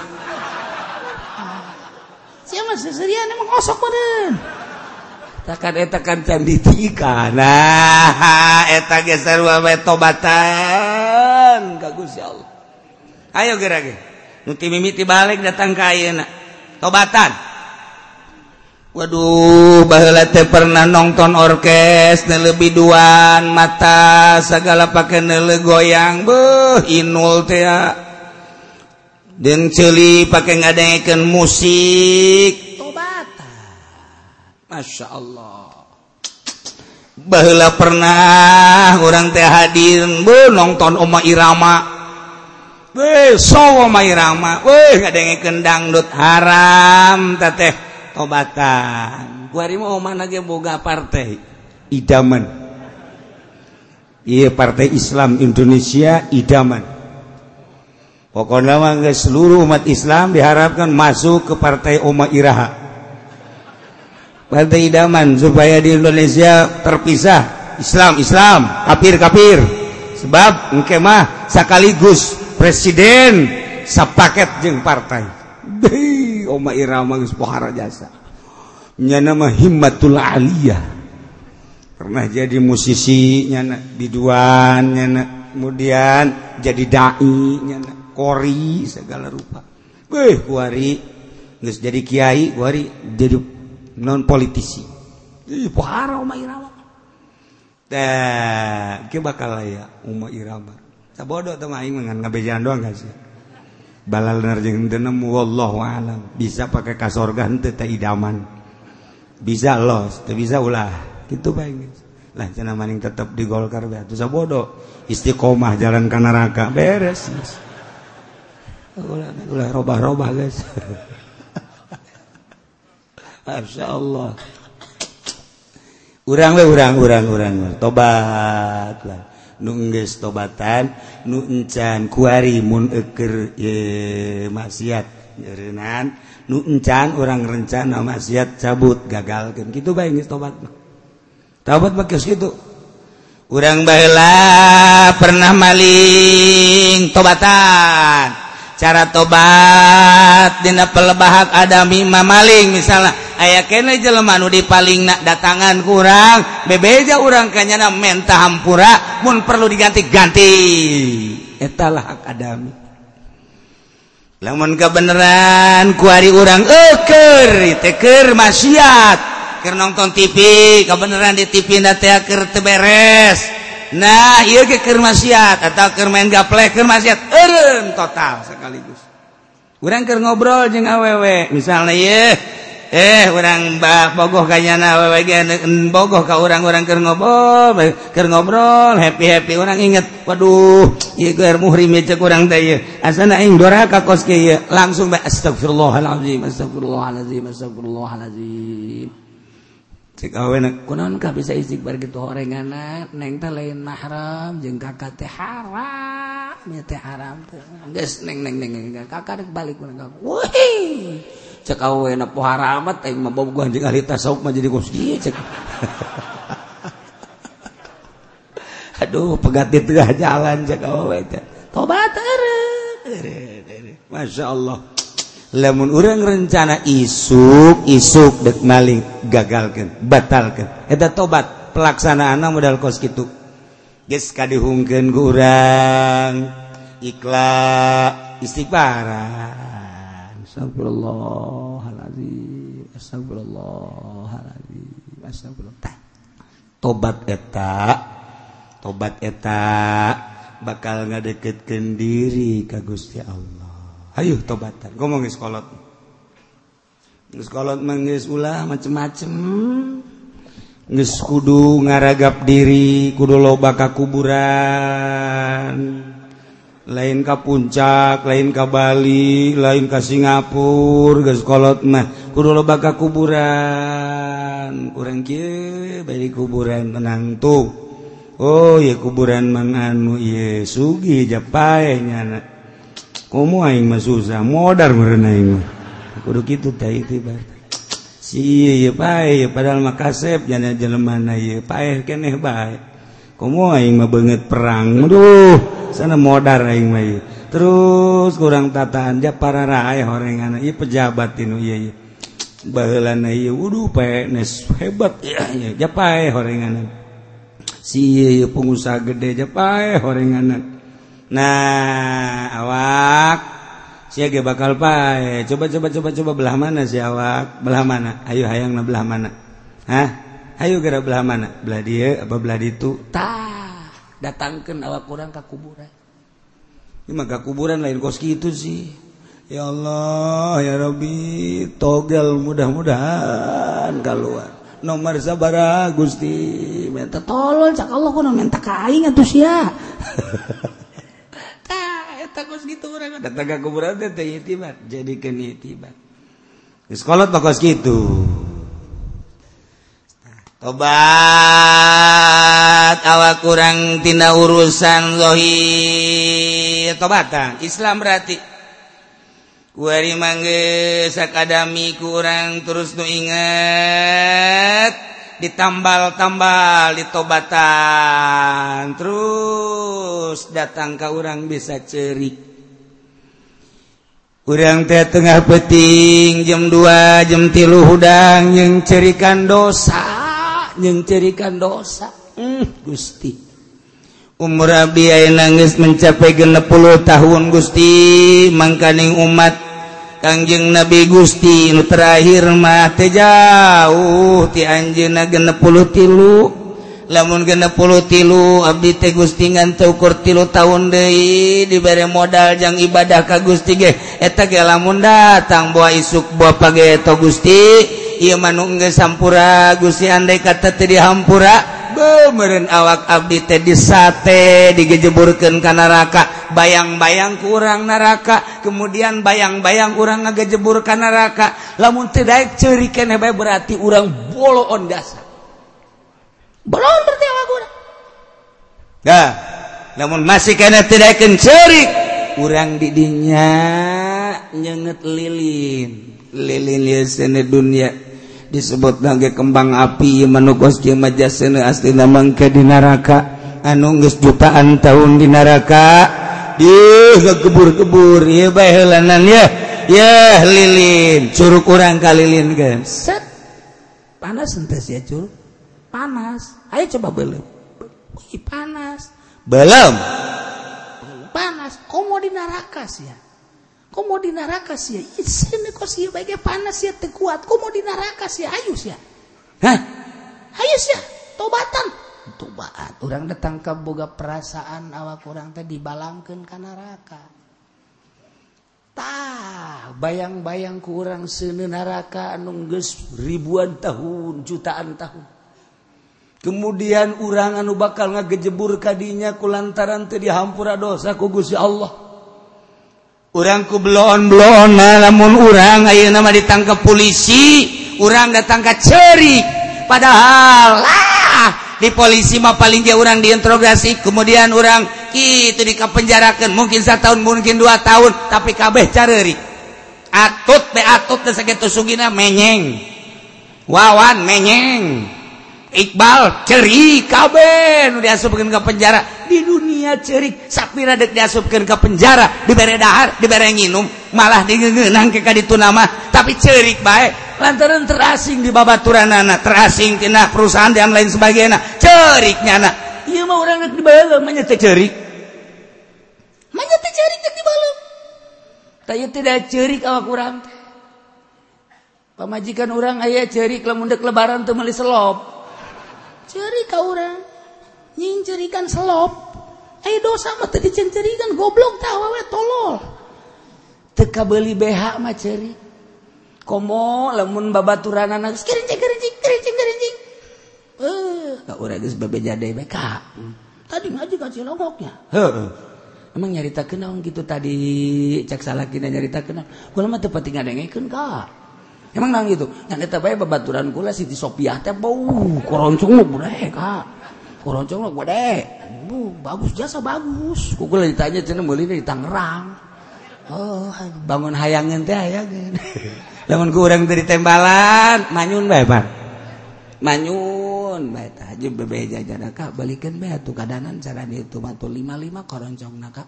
Sia mah seserian emang kosok badan. Takan eta kan can ditika. Nah, eta ge sarua bae tobatan ka Gusti Allah. Ayo geura ge. Nu ti mimiti balik datang ka ayeuna. Tobatan. Waduh, baheula teh pernah nonton orkes neuleuh biduan, mata sagala pake neuleuh goyang. Beuh, inul teh ya. Deung ceuli pake ngadengekeun musik. Masya Allah. Baheula pernah orang teh hadir be nonton Oma Irama. Be so Oma Irama. Weh ngadengekeun dangdut haram teh tobatan. Kuari mah omana ge boga partai idaman. Ieu Partai Islam Indonesia idaman. Pokokna mah seluruh umat Islam diharapkan masuk ke Partai Oma Iraha. Partai idaman supaya di Indonesia terpisah Islam Islam kafir kafir sebab engke mah sakaligus presiden sapaket jeung partai. Deui Oma Irama geus pohara jasa nya nama Himmatul Aliyah pernah jadi musisi nyana biduan nyana kemudian jadi dai nyana kori segala rupa. Beuh kuari geus jadi kiai kuari jadi non politisi. Ih, pohara Oma Irama. Tah, kieu bakal aya Oma Irama. Sabodo teh mah aing ngan ngabejaan doang guys. Balaler jeung teu nemu wallahu alam. Bisa pakai ka surga henteu teh idaman. Bisa los, teu bisa ulah. Kitu bae guys. Lah cenah maning tetep di Golkar bae atuh sabodo. Istiqomah jalan ka neraka beres. Ulah ulah robah-robah guys. Masya Allah. Urang we urang urang urang tobat lah. Nu geus tobatan, nu encan kuari mun eukeur ye maksiat nyeureunaan, nu encan urang rencana maksiat cabut gagalkeun. Kitu bae geus tobat mah. Tobat mah geus kitu. urang baheula pernah maling tobatan cara tobat dina pelebahak adami mamaling misalnya aya keneh jelema nu dipalingna datangan kurang bebeja urang kanyana menta hampura mun perlu diganti-ganti eta lah hak adami lamun kebeneran ku ari urang eukeur teh keur maksiat keur nonton T V kebeneran di T V na teh keur teu beres nah ieu ge keur maksiat atawa keur main gaplek keur maksiat eureun total sekaligus urang keur ngobrol jeung awewe misalna ieu eh urang bogoh kanyana awewe ge bogoh ka urang-urang keur ngobrol keur ngobrol happy-happy urang inget waduh ieu keur muhrim cek urang teh ieu asana aing doraka kos ge ieu langsung bae astagfirullahalazim astagfirullahalazim astagfirullahalazim cek awewe kunaon ka bisa istighfar kitu horenganna neng teh lain mahram jeung kakak teh haram nya teh haram teh geus neng neng neng kakak rek balik urang ka wih cek awewe na poha ramat aing mah bobogoh jeung ahli tasawuf mah jadi kos ieu cek aduh pegat di tengah jalan cek awewe teh tobat eureun masyaallah lamun urang rencana isuk isuk dek maling gagalkeun batalkeun eta tobat pelaksanaanna modal kos kitu geus kadihungkeun ku urang ikhlas istighfaran astagfirullahalazim astagfirullahalazim astagfirullah tobat eta tobat eta bakal ngadeketkeun diri ka Gusti Allah. Ayo tobatan, ngomong geus kolot. Geus kolot mah geus ulah macem-macem. Geus kudu ngaragap diri, kudu loba ka kuburan. Lain ka puncak, lain ka Bali, lain ka Singapura, geus kolot mah kudu loba ka kuburan. Urang kieu bari kuburan tenang tuh. Oh, ya kuburan mang anu ieu sugih japae nyana. Komo aing mah susah modar meureun aing mah kudu kitu teh itibar si ieu bae padahal mah kasep nya jelemana ieu paeh keneh bae komo aing mah beungeut perang aduh sana modar aing mah ieu terus kurang tataan ja pararae horenganna ieu pejabat tinu ieu ieu baheulana ieu wuduh pae nes hebat ieu ja paeh horenganna si ieu pengusaha gede ja paeh horenganna. Nah, awak sia ge bakal pae. Coba coba coba coba belah mana si awak? Belah mana? Ayo hayangna belah mana? Hah? Ayo geura belah mana? Belah dieu apa belah ditu? Tah, datangkeun awak urang ka kuburan. Ieu mah ka kuburan lain kos kitu sih. Ya Allah, ya Rabbi, togel mudah-mudahan kaluar. Nomor sabaraha Gusti? Minta tolol cak Allah kunaon minta ka aing atuh sia. Takos gitu urang datang ka kuburan teh teh itibat jadikeun itibat geus kolot bakos kitu tobat awak urang tina urusan zahir tobatan Islam berarti kuari mangge sakadami ku urang terus nu inget ditambal-tambal ditobatan terus datang ka urang bisa cerik urang teh tengah peuting jam dua jam tilu hudang jeung cerikan dosa jeung cerikan dosa hmm, Gusti umur abdi ayeuna geus mencapai genep puluh tahun Gusti mangkaning umat Kangjeng Nabi Gusti nu terakhir mah teh jauh ti anjeunna genep puluh tilu lamun genep puluh tilu abdi teh Gusti ngan teu ukur tilu taun deui dibere modal jang ibadah ka Gusti ge eta ge lamun datang boa isuk boa page eta Gusti ieu mah nu geus sampura Gusti andai kata teu dihampura beumereun awak abdi teh disate digejeburkeun ka neraka bayang-bayang ku urang neraka kemudian bayang-bayang urang ngagejebur ka neraka lamun teu daek ceurik keneh bae berarti urang boloon dasar boloon berarti awak urang dah lamun masih keneh teu daekeun ceurik urang di dinya nyeungeut lilin lilin ieu sene dunya disebut lagi kembang api manukos kieu mah jasana astina mangke di neraka anu geus jutaan tahun di neraka Ih, kebur-kebur ieu bae heulanan ya. Ya lilin, curug urang ka lilin geus. Set. Panas henteu sia curug. Panas. Ayo coba beuleum. Ih, panas. Belum. Panas. Komo di neraka sia. Komo di neraka sia. Ih, sini kok sia bae panas sia teu kuat. Komo di neraka sia ayo sia. Hah? Ayo sia, tobatan. Tobat orang datang ke boga perasaan awak orang teh dibalangkeun ka neraka. Tah bayang-bayang ku urang seuneu neraka anu geus ribuan tahun, jutaan tahun. Kemudian urang anu bakal ngagejebur ka dinya kulantaran teu dihampura dosa ku Gusti Allah. Urang ku bloon-bloonna lamun urang ayeuna mah ditangkap polisi, urang datang ka ceurik padahal lah di polisi mah paling dia orang diinterogasi, kemudian orang kitu dikapenjarakeun mungkin satahun mungkin dua tahun tapi kabeh careurik. Atut be atut teh sakitu sugina menyeng. Wawan menyeng. Iqbal ceurik kabeh nu diasupkeun ka penjara. Di dunia ceurik sapira deuk diasupkeun ka penjara, dibere dahar, dibere nginum, malah digeungeunang ke ka ditu nama, tapi ceurik bae. Lantaran terasing di babaturanana, terasing tina perusahaan dan lain sebagainya, ceriknya anak. Iya mah orang nak dibalam, manya teh cerik, manya teh cerik nak dibalam. Tapi tidak cerik awak orang. Pamajikan orang ayah cerik lamun dek lebaran teu meuli selop. Cerik ka orang, nying cerikan selop. Aya dosa mah teu dicencerikan, goblok tah awewe tolol. Teu kabeuli B H mah cerik. Komo lamun babaturanana geus kerincing kerincing kerincing kerincing. Eh, ka urang geus babejade bae ka. Tadi ngaji ka Cilongoknya. Heeh. Emang nyaritakeun naon kitu tadi cak salakina nyaritakeun. Kula mah teu pati ngadengekeun ka. Emang naon kitu? Nya eta bae babaturan kula Siti Sopiah teh bau koroncong mah bude ka. Koroncong mah bude. Bu, bagus jasa bagus. Ku kula ditanya cenah meuli di Tangerang. Oh, bangun hayangan teh hayangan. Lamun ku urang teh ditembalan, manyun bae, Pak. Manyun bae tah jeung bebe jajan ka balikeun bae atuh kadanan cara ditu mah lima lima koroncongna ka.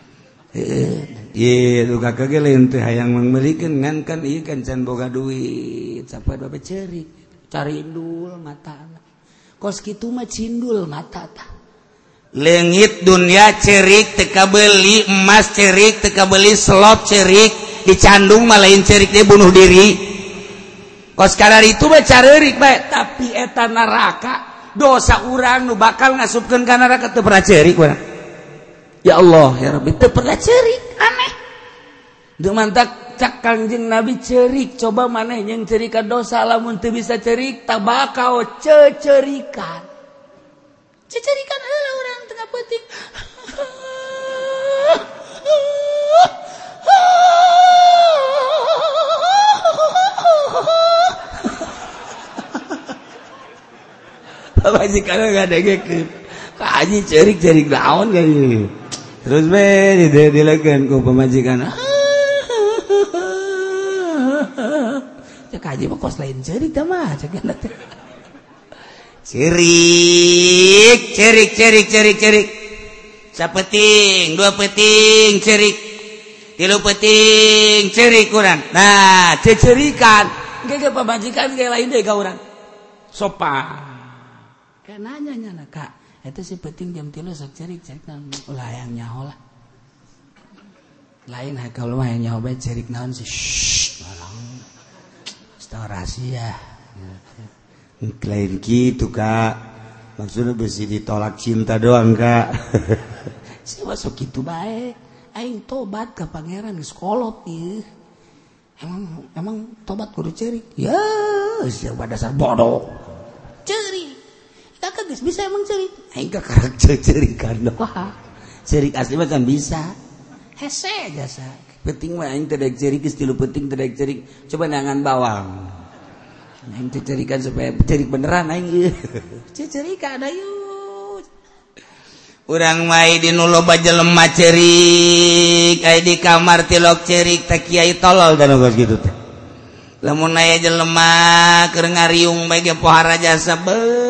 Heeh. Ieu ka kageleun teh hayang meulikeun ngan kan ieu kan can boga duit, sapoe bae ceurik, carindul matana. Kos kitu mah cindul mata tah. Leungit dunia cerik teu kabeuli emas cerik teu kabeuli selop cerik dicandung mah lain cerik dia bunuh diri. Kos kadar itu mah careurik bae tapi eta neraka dosa urang nu bakal ngasupkeun ka neraka teu pernah cerik urang. Ya Allah ya Rabbi teu pernah cerik aneh. Deuk mantak cak Kangjeng Nabi cerik coba maneh yang cerika dosa lamun teu bisa cerik tabakao cecerikan. Cecerikan heula urang tengah peuting. Pamajikan enggak dengekeun. Ka aji cerik-cerik naon kayeu. Terus bae dilekeun ku pamajikan. Cek aji mah kos lain cerik tah mah cek teh. Cerik, cerik, cerik, cerik, cerik. Sapeting, dua peting, cerik. Tilu peting, cerik urang. Nah, cecerikan. Engke pamajikan ge lain deui ka urang. Sopan. Kayak nanya nya Kak, eta si peting jam tilu sok cerik, cerik naon? Ulah hayang nyaho lah. Lain hakal mah hayang nyaho bae cerik naon sih. Shh, malang. Setahu rahasia. Lain gitu Kak, maksudnya besi ditolak cinta doang Kak. Si masuk gitu baik, aing tobat ke pangeran geus kolot ieu. Emang emang tobat kudu cerik. Ya, siapa dasar bodoh. Cerik. Kakak geus bisa emang cerik. Aing ka karakter cerikan doang. Cerik asli mah kan bisa. Hese jasa. Penting mah aing teu daek cerik geus tilu penting teu daek cerik. Coba nangan bawang. Aing cerikan supaya cerik beneran aing. Cerikan ayo. Urang mai di nu loba jelema cerik, aya di kamar tilok cerik teh kiai tolol dan geus kitu teh. Lamun aya jelema keur ngariung bae ge pohara jasa be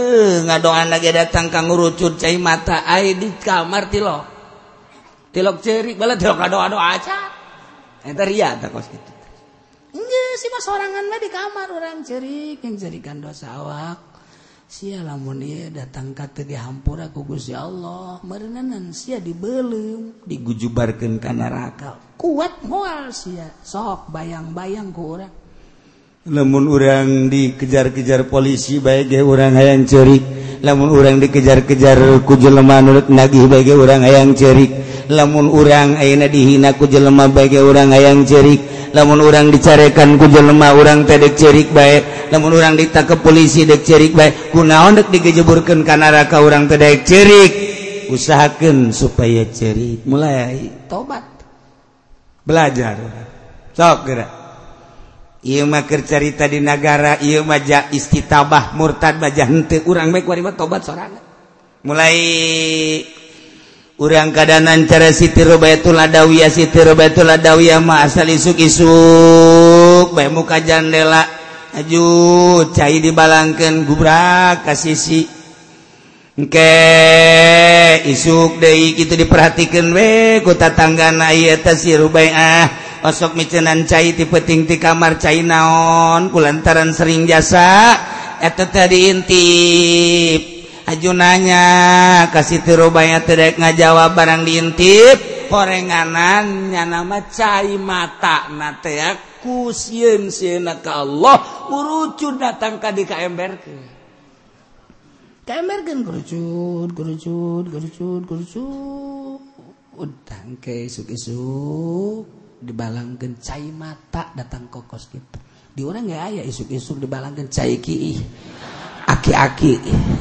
ngadoan lagi datang kang ngurucut cai mata ai di kamar tilok tilok cerik bala tilok ngadoa-doa aja eta ria tah kos kitu enggeus si mah sorangan mah di kamar urang cerik yang cerikan dosa awak sia lamun ieu datang ka teu dihampura ku Gusti Allah meureunnan sia dibeulem digujubarkeun ka neraka kuat moal sia sok bayang-bayang ku urang lamun urang dikejar-kejar polisi bae ge urang hayang ceurik lamun urang dikejar-kejar ku jelema nu nagih bae ge urang hayang ceurik lamun urang ayeuna dihina ku jelema bae ge urang hayang ceurik lamun urang dicarekan ku jelema urang teh dek ceurik bae lamun urang ditangkep polisi dek ceurik bae kunaon dek digejeburkeun ka neraka urang teh dek ceurik usahakeun supaya ceurik mulai tobat belajar sok geura ieu mah keur carita di nagara ieu mah ja istitabah murtad baja henteu urang bae kuari mah tobat sorangan mulai urang kadanan cara Siti Robayatul Adawiyah Siti Robayatul Adawiyah mah asal isuk-isuk bae muka jandela aju cai dibalangkeun gubrak ka sisi engke isuk deui kitu diperhatikeun we ku tatanggana ieu teh si Rubaiyah osok micenan cai ti peuting ti kamar cai naon kulantaran sering jasa eta teh diintip ajunanya ka Siti Robaiyah teh daek ngajawab barang diintip horenganan nya nama cai mata na teh ku sieun-sieunna ka Allah ngurucut datang ka di kaemberkeun kaemberkeun ngurucut ngurucut ngurucut ngurucut udang ke isuk-isuk dibalangkeun cai mata datang kokos gitu di urang ge aya isuk-isuk dibalangkeun cai kiih aki-aki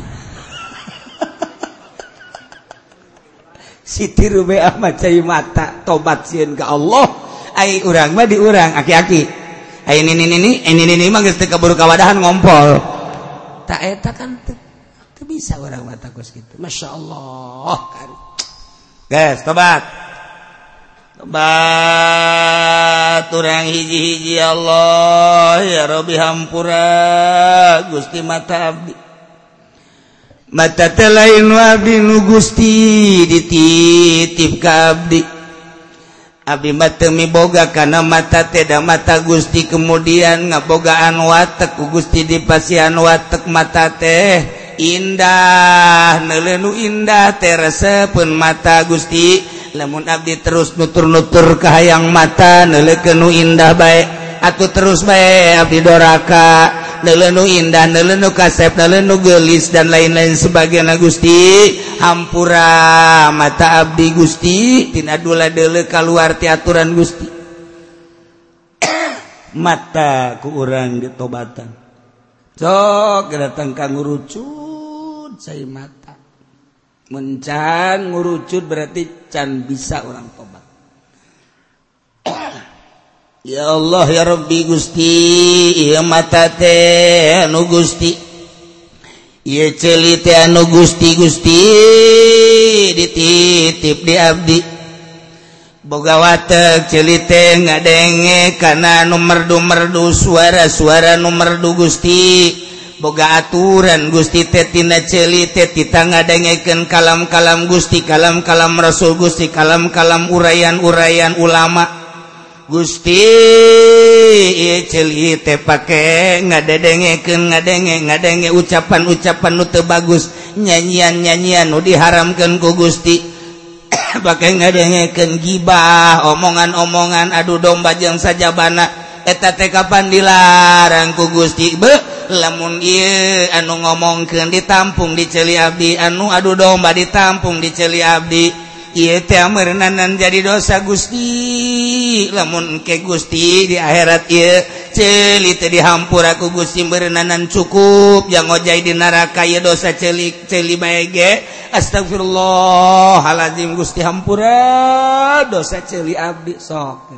Siti Rubaiyah mah cai mata tobat sieun ka Allah ai urang mah di urang aki-aki ai ini ini ini ini ini mah geus teu kaburu kawadahan ngompol tak eta kan teu bisa urang mah takos kitu masyaallah kan guys tobat tobat urang hiji-hiji Allah ya Rabbi hampura Gusti mata abdi mata teh lain abdi nu Gusti dititip ka abdi abdi mah teu miboga kana mata teh da mata Gusti kemudian ngabogaan watek ku Gusti dipasihan watek mata teh indah neuleuh indah teh resepeun mata Gusti lamun abdi terus nutur-nutur ka hayang mata neuleukeun nu indah bae atuh terus bae abdi doraka neuleuh nu indah neuleuh nu kasep neuleuh nu geulis dan lain-lain sebagainya Gusti hampura mata abdi Gusti tina dula deuleu kaluar ti aturan Gusti mata ku urang ditobatan sok datang ka ngurucut cai mata mencan ngurucut berarti can bisa orang tobat ya Allah ya Rabbi Gusti ieu mata teh anu Gusti ieu ceuli teh anu Gusti Gusti dititip di abdi boga watek ceuli teh ngadenge kana nu merdu-merdu suara-suara nu merdu Gusti boga aturan Gusti teh tina ceuli teh tita ngadengekeun kalam-kalam Gusti kalam-kalam Rasul Gusti kalam-kalam urayan-urayan ulama Gusti ieu ceuli teh pake ngadedengekeun ngadenge ngadenge ucapan-ucapan nu teu bagus nyanyian-nyanyian nu diharamkeun ku Gusti pake ngadengekeun gibah omongan-omongan adu domba jeung sajabana eta teh kapan dilarang ku Gusti be lamun ieu anu ngomongkeun ditampung di ceuli abdi anu adu domba ditampung di ceuli abdi ieu teh meureunan jadi dosa Gusti lamun ke Gusti di akhirat ieu ceuli teh dihampura ku Gusti meureunan cukup jang ngojai di neraka ieu dosa ceuli ceuli bae ge astagfirullahalazim Gusti hampura dosa ceuli abdi sok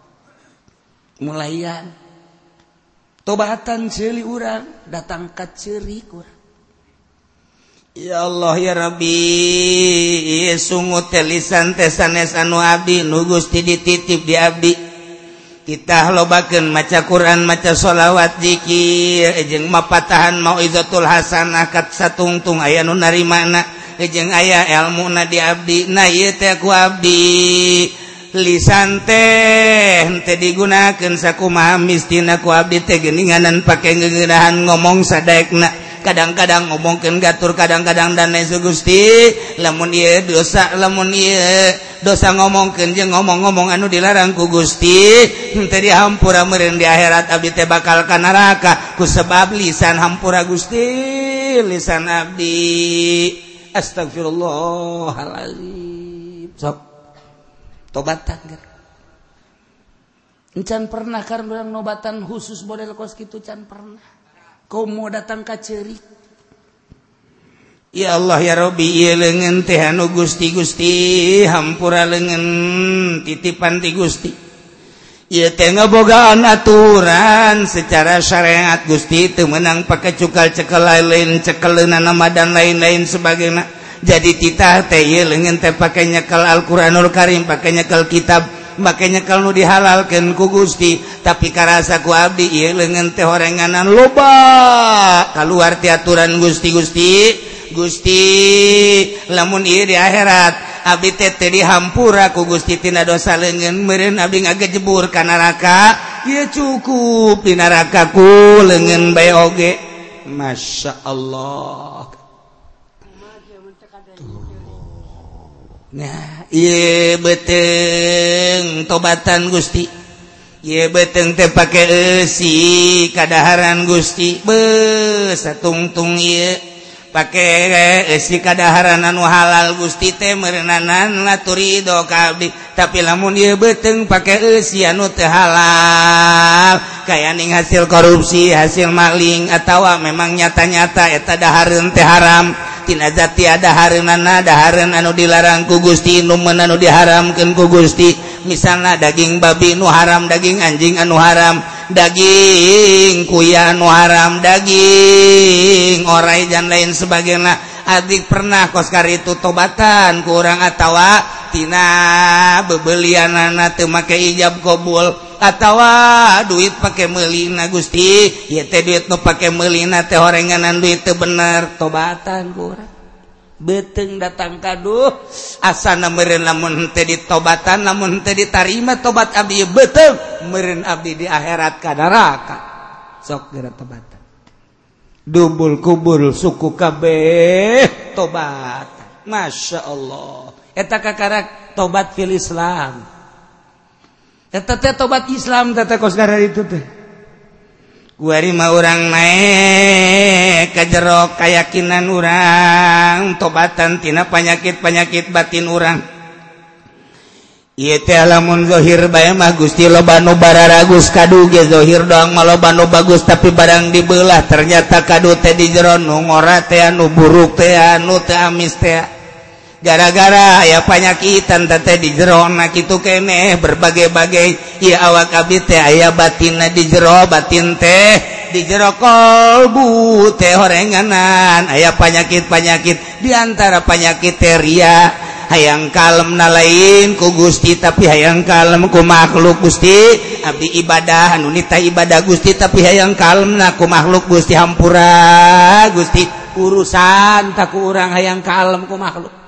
mulaian tobatan ceuli urang datang ka ceurik urang ya Allah ya Rabbi sungut teh lisan teh sanes anu abdi nu Gusti dititip di abdi kita lobakeun maca Quran maca sholawat zikir jeung mapatahan mauizatul hasanah kat satungtung aya nu narimana jeung aya ilmuna di abdi na ieu teh ku abdi lisan teh teu digunakeun sakumaha mistina ku abdi teh geuninganan pake ngeunahan ngomong sadaekna kadang-kadang ngomongkeun gatur kadang-kadang dan lain Gusti lamun ieu dosa lamun ieu dosa ngomongkeun jeung ngomong-ngomong anu dilarang ku Gusti teu dihampura meureun di akhirat abdi teh bakal ka neraka ku sebab lisan hampura Gusti lisan abdi astagfirullahalazim sok tobatan kan encan pernah kan urang nobatan khusus model kos kitu can pernah kau mau datang ka ceurik ya Allah ya Rabbi ieu leungeun teh anu Gusti Gusti hampura leungeun titipan ti Gusti ieu teh ngabogaan aturan secara syariat Gusti teu meunang pake cukal cekel lain cekeleunana dan lain-lain sebagainya jadi titah teh ieu leungeun teh pake nyekel Al-Qur'anul Karim pake nyekel kitab makanya kalau dihalalkan ku Gusti tapi karasa ku abdi ieu leungeun teh horenganan loba kaluar ti aturan Gusti Gusti Gusti lamun ieu di akhirat abdi teh teu dihampura ku Gusti tina dosa leungeun meureun abdi ngagejebur ka neraka ieu cukup di neraka ku leungeun bae oge masyaallah. Nah ieu beteng tobatan Gusti ieu beteng teh pake eusi kadaharan Gusti be satungtung ieu pake eusi kadaharan anu halal Gusti teh meureunana laturido ka abdi tapi lamun ieu beteng pake eusi anu teu halal kaya ning hasil korupsi hasil maling atawa memang nyata-nyata eta dahareun teh haram tina zati ada hareunana dahareun anu dilarang ku Gusti nu meun anu diharamkeun ku Gusti misalna daging babi nu haram daging anjing anu haram daging kuya anu haram daging orai dan lain sebagainya adik pernah kos karitu tobatan ku urang atawa tina bebelianana teu make ijab qabul atawa duit pake meulina Gusti ieu teh duit nu pake meulina teh horenganan duit teu bener tobatan ku urang beteng datang kaduh asana meureun lamun teu ditobatan lamun teu ditarima tobat abdi beteng meureun abdi di akhirat ka neraka sok geura tobatan dubul kubul suku kabeh tobat masyaallah eta kakarak tobat fil Islam eta teh tobat Islam teh kos gara itu teh kuari mah urang naik ka jero kayakinan urang tobatan tina panyakit-panyakit batin urang ieu teh lamun zahir bae mah Gusti loba nu bararagus kadu ge zahir doang mah loba nu bagus tapi barang dibelah ternyata kadu teh di jero nu ngora teh anu buruk teh anu teh amis teh gara-gara aya panyakitan teh di jero na kitu keneh berbagai-bagai ieu awak abdi teh aya batinna di jero batin teh di jero kolbu teh horenganan aya panyakit-panyakit di antara panyakit teh ria hayang kalem na lain ku Gusti tapi hayang kalem ku makhluk Gusti abdi ibadah anu nita ibadah Gusti tapi hayang kalem na ku makhluk Gusti hampura Gusti urusan tak ku urang hayang kalem ku makhluk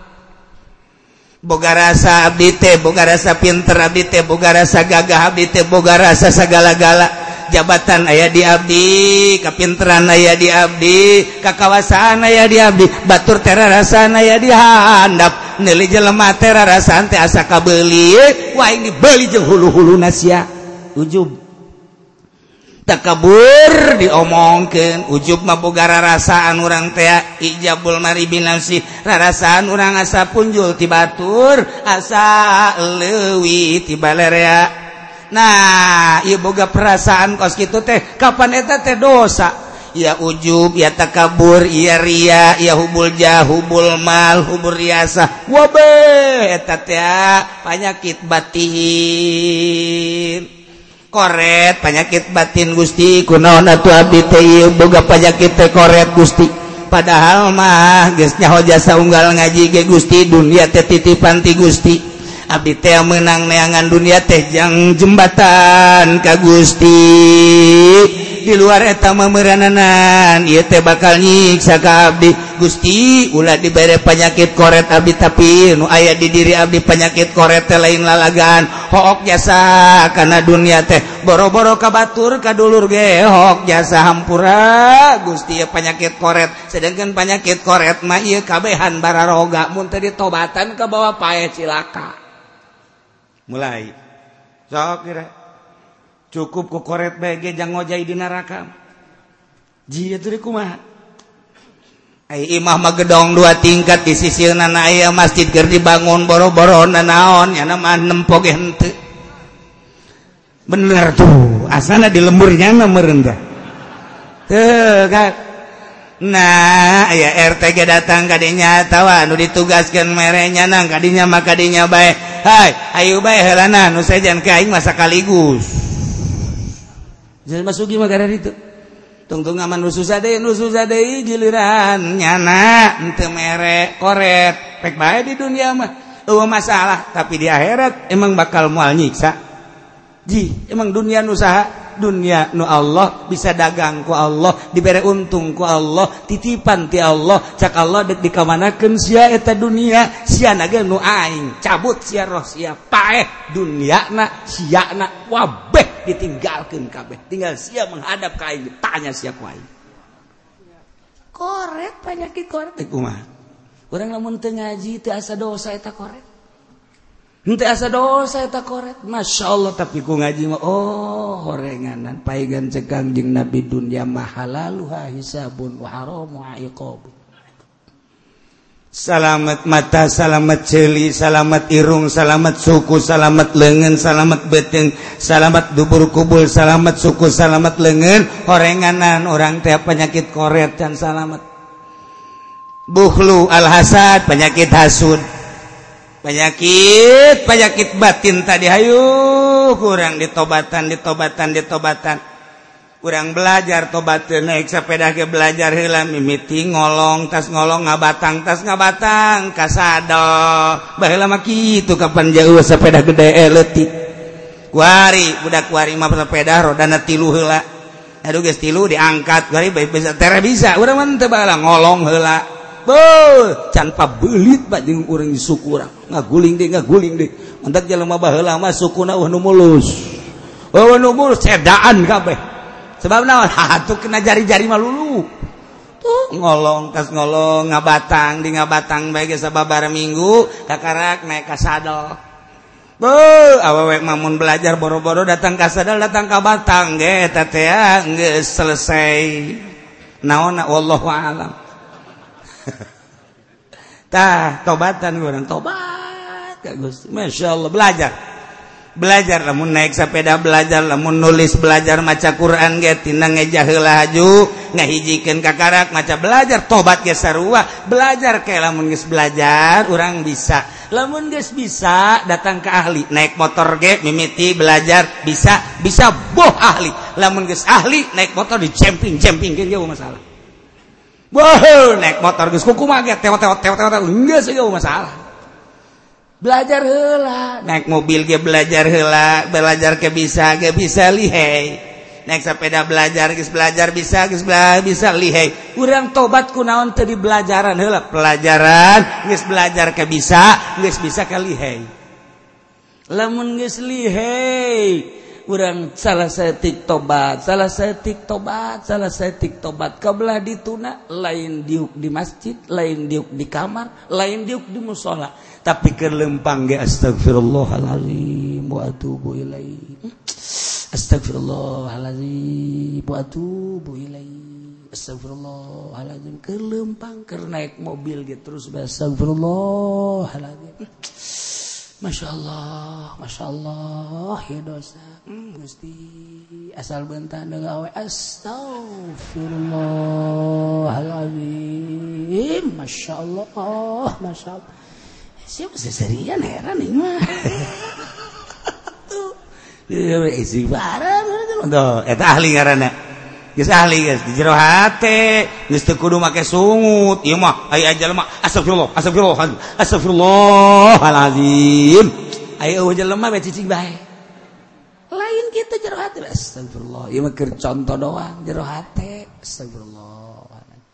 boga rasa abdi teh boga rasa pinter abdi teh boga rasa gagah abdi teh boga rasa sagala-gala jabatan aya di abdi kapinteran aya di abdi kakawasaan aya di abdi batur teh rarasaan aya di handap neuli jelema teh rarasaan teh asa kabeuli wah ini beuli jeung hulu-huluna sia ujub takabur diomongkeun ujub mah boga rarasaan urang teh ijabul mari binafsi rarasaan urang asa punjul ti batur asa leuwih ti balerea nah ieu boga perasaan kos kitu teh kapan eta teh dosa ya ujub ya takabur ya ria ya hubul jah hubul mal hubul riasa wabe eta teh panyakit batin koret penyakit batin Gusti kunaon atuh abdi teh boga penyakit teh koret Gusti padahal mah geus nyaho jasa unggal ngaji ge Gusti dunia teh titipan ti Gusti abdi teh meunang neangan dunia teh jang jembatan ka Gusti di luar eta mah meurananan ieu teh bakal nyiksa ka abdi Gusti ulah dibere penyakit koret abdi tapi nu aya di diri abdi penyakit koret teh lain lalagan hook jasa kana dunia teh boro-boro ka batur ka dulur ge hook jasa hampura Gusti ieu penyakit koret sedangkan penyakit koret mah ieu kabehan bararoga mun teu ditobatan ka bawa pae cilaka mulai sok kira cukup ku koret bae ge jang ngojai di neraka jieu teh kumaha ai imah mah gedong dua tingkat di sisieuna aya masjid keur dibangun boro-boro naon nya mah nempo ge henteu bener tuh asana di lemburnya mah meureun teh teu kan nah aya R T ge datang ka dinya tawa nu ditugaskeun mere nyanang ka dinya mah ka dinya bae hai ayo bae heulana nu sajan ke aing mah sakaligus jadi masuki mah gara ditu tungtung aman nu susah deui nu susah deui giliran nyana henteu mere koret pek bae di dunia mah eueuh masalah tapi di akhirat emang bakal moal nyiksa ji emang dunia nu saha dunia nu Allah bisa dagang ku Allah dibere untung ku Allah titipan ti Allah cak Allah dek dikamanakeun sia eta dunia sia na ge nu aing cabut sia roh sia paeh duniana sia na wabeh ditinggalkeun kabeh tinggal sia menghadap ka aing tanya sia ku aing koret penyakit koret teh kumaha urang lamun teu ngaji teu asa dosa eta koret henteu asa dosa eta koret masyaallah tapi ku ngaji mah oh horenganan paegan cegang jeung nabi dunya mah halaluha hisabun wa haramu iqab salamet mata salamet ceuli salamet irung salamet suku salamet leungeun salamet beuteung salamet dubur kubul salamet suku salamet leungeun horenganan urang teh penyakit koret can salamet bukhlu al hasad penyakit hasud penyakit penyakit batin tadi hayu kurang ditobatan ditobatan ditobatan kurang belajar tobateun naik sepeda ke belajar heula mimiti ngolong tas ngolong ngabatang tas ngabatang kasado baheula mah kitu kapan jauh sepeda gede leutik kuari budak kuari mah sepeda rodana tilu heula aduh geus tilu diangkat kuari bisa tere bisa urang mah teu baheula ngolong heula Boh, can pabelit pak jeung urang di suku urang. Ngaguling deui, ngaguling deui. Mentak jelema baheula mah sukuna eueuh nu mulus. Eueuh nu mulus cedaan kabeh. Sebab naon? Hatuh kena jari-jari mah lulu. Tuh ngolong tas ngolong ngabatang di ngabatang bae ge sababaraha minggu kakarak naik ka sadel. Boh, awewe mah mun belajar boro-boro datang ka sadel datang ka batang ge eta teh geus selesai. Naonna wallahu a'lam. Tah tobatan urang tobat ka Gusti masyaallah belajar belajar lamun naik sepeda belajar lamun nulis belajar maca Quran ge tina ngeja heula haju ngahijikeun kakarak maca belajar tobat ge sarua belajar ke lamun geus belajar urang bisa lamun geus bisa datang ke ahli naik motor ge mimiti belajar bisa bisa boh ahli lamun geus ahli naik motor di camping-campingkeun ge masalah. Wah, naik motor geus kumaha ge tewot-tewot-tewot geus eueuh masalah. Belajar heula, naik mobil ge belajar heula, belajar ke bisa ge bisa lihai. Naik sepeda belajar geus belajar bisa geus bisa lihai. Urang tobat kunaon teu di belajaran heula, pelajaran geus belajar ke bisa, geus bisa ka lihai. Lamun geus lihai urang salah saeutik tobat salah saeutik tobat salah saeutik tobat kabelah dituna lain diuk di masjid lain diuk di kamar lain diuk di mushola tapi keur leumpang ge astagfirullahalazim wa atubu ilaihi astagfirullahalazim wa atubu ilaihi astagfirullahalazim keur leumpang keur naik mobil ge terus astagfirullahalazim. Masya Allah, Masya Allah, ya dosa, hmm, Gusti, asal bentar dengan awe, astagfirullahaladzim, Masya Allah, Masya Allah, siapa seserian heran ini mah, tuh, isi barang, tuh, itu ahli karena, guys ahli guys, di jero hate, guys teu kudu make sungut, ieu mah aya ajal mah astagfirullah, astagfirullah, astagfirullahalazim. aya jelema bae cicing bae lain kitu jero hate astagfirullah ieu mah keur contoh doang jero hate astagfirullah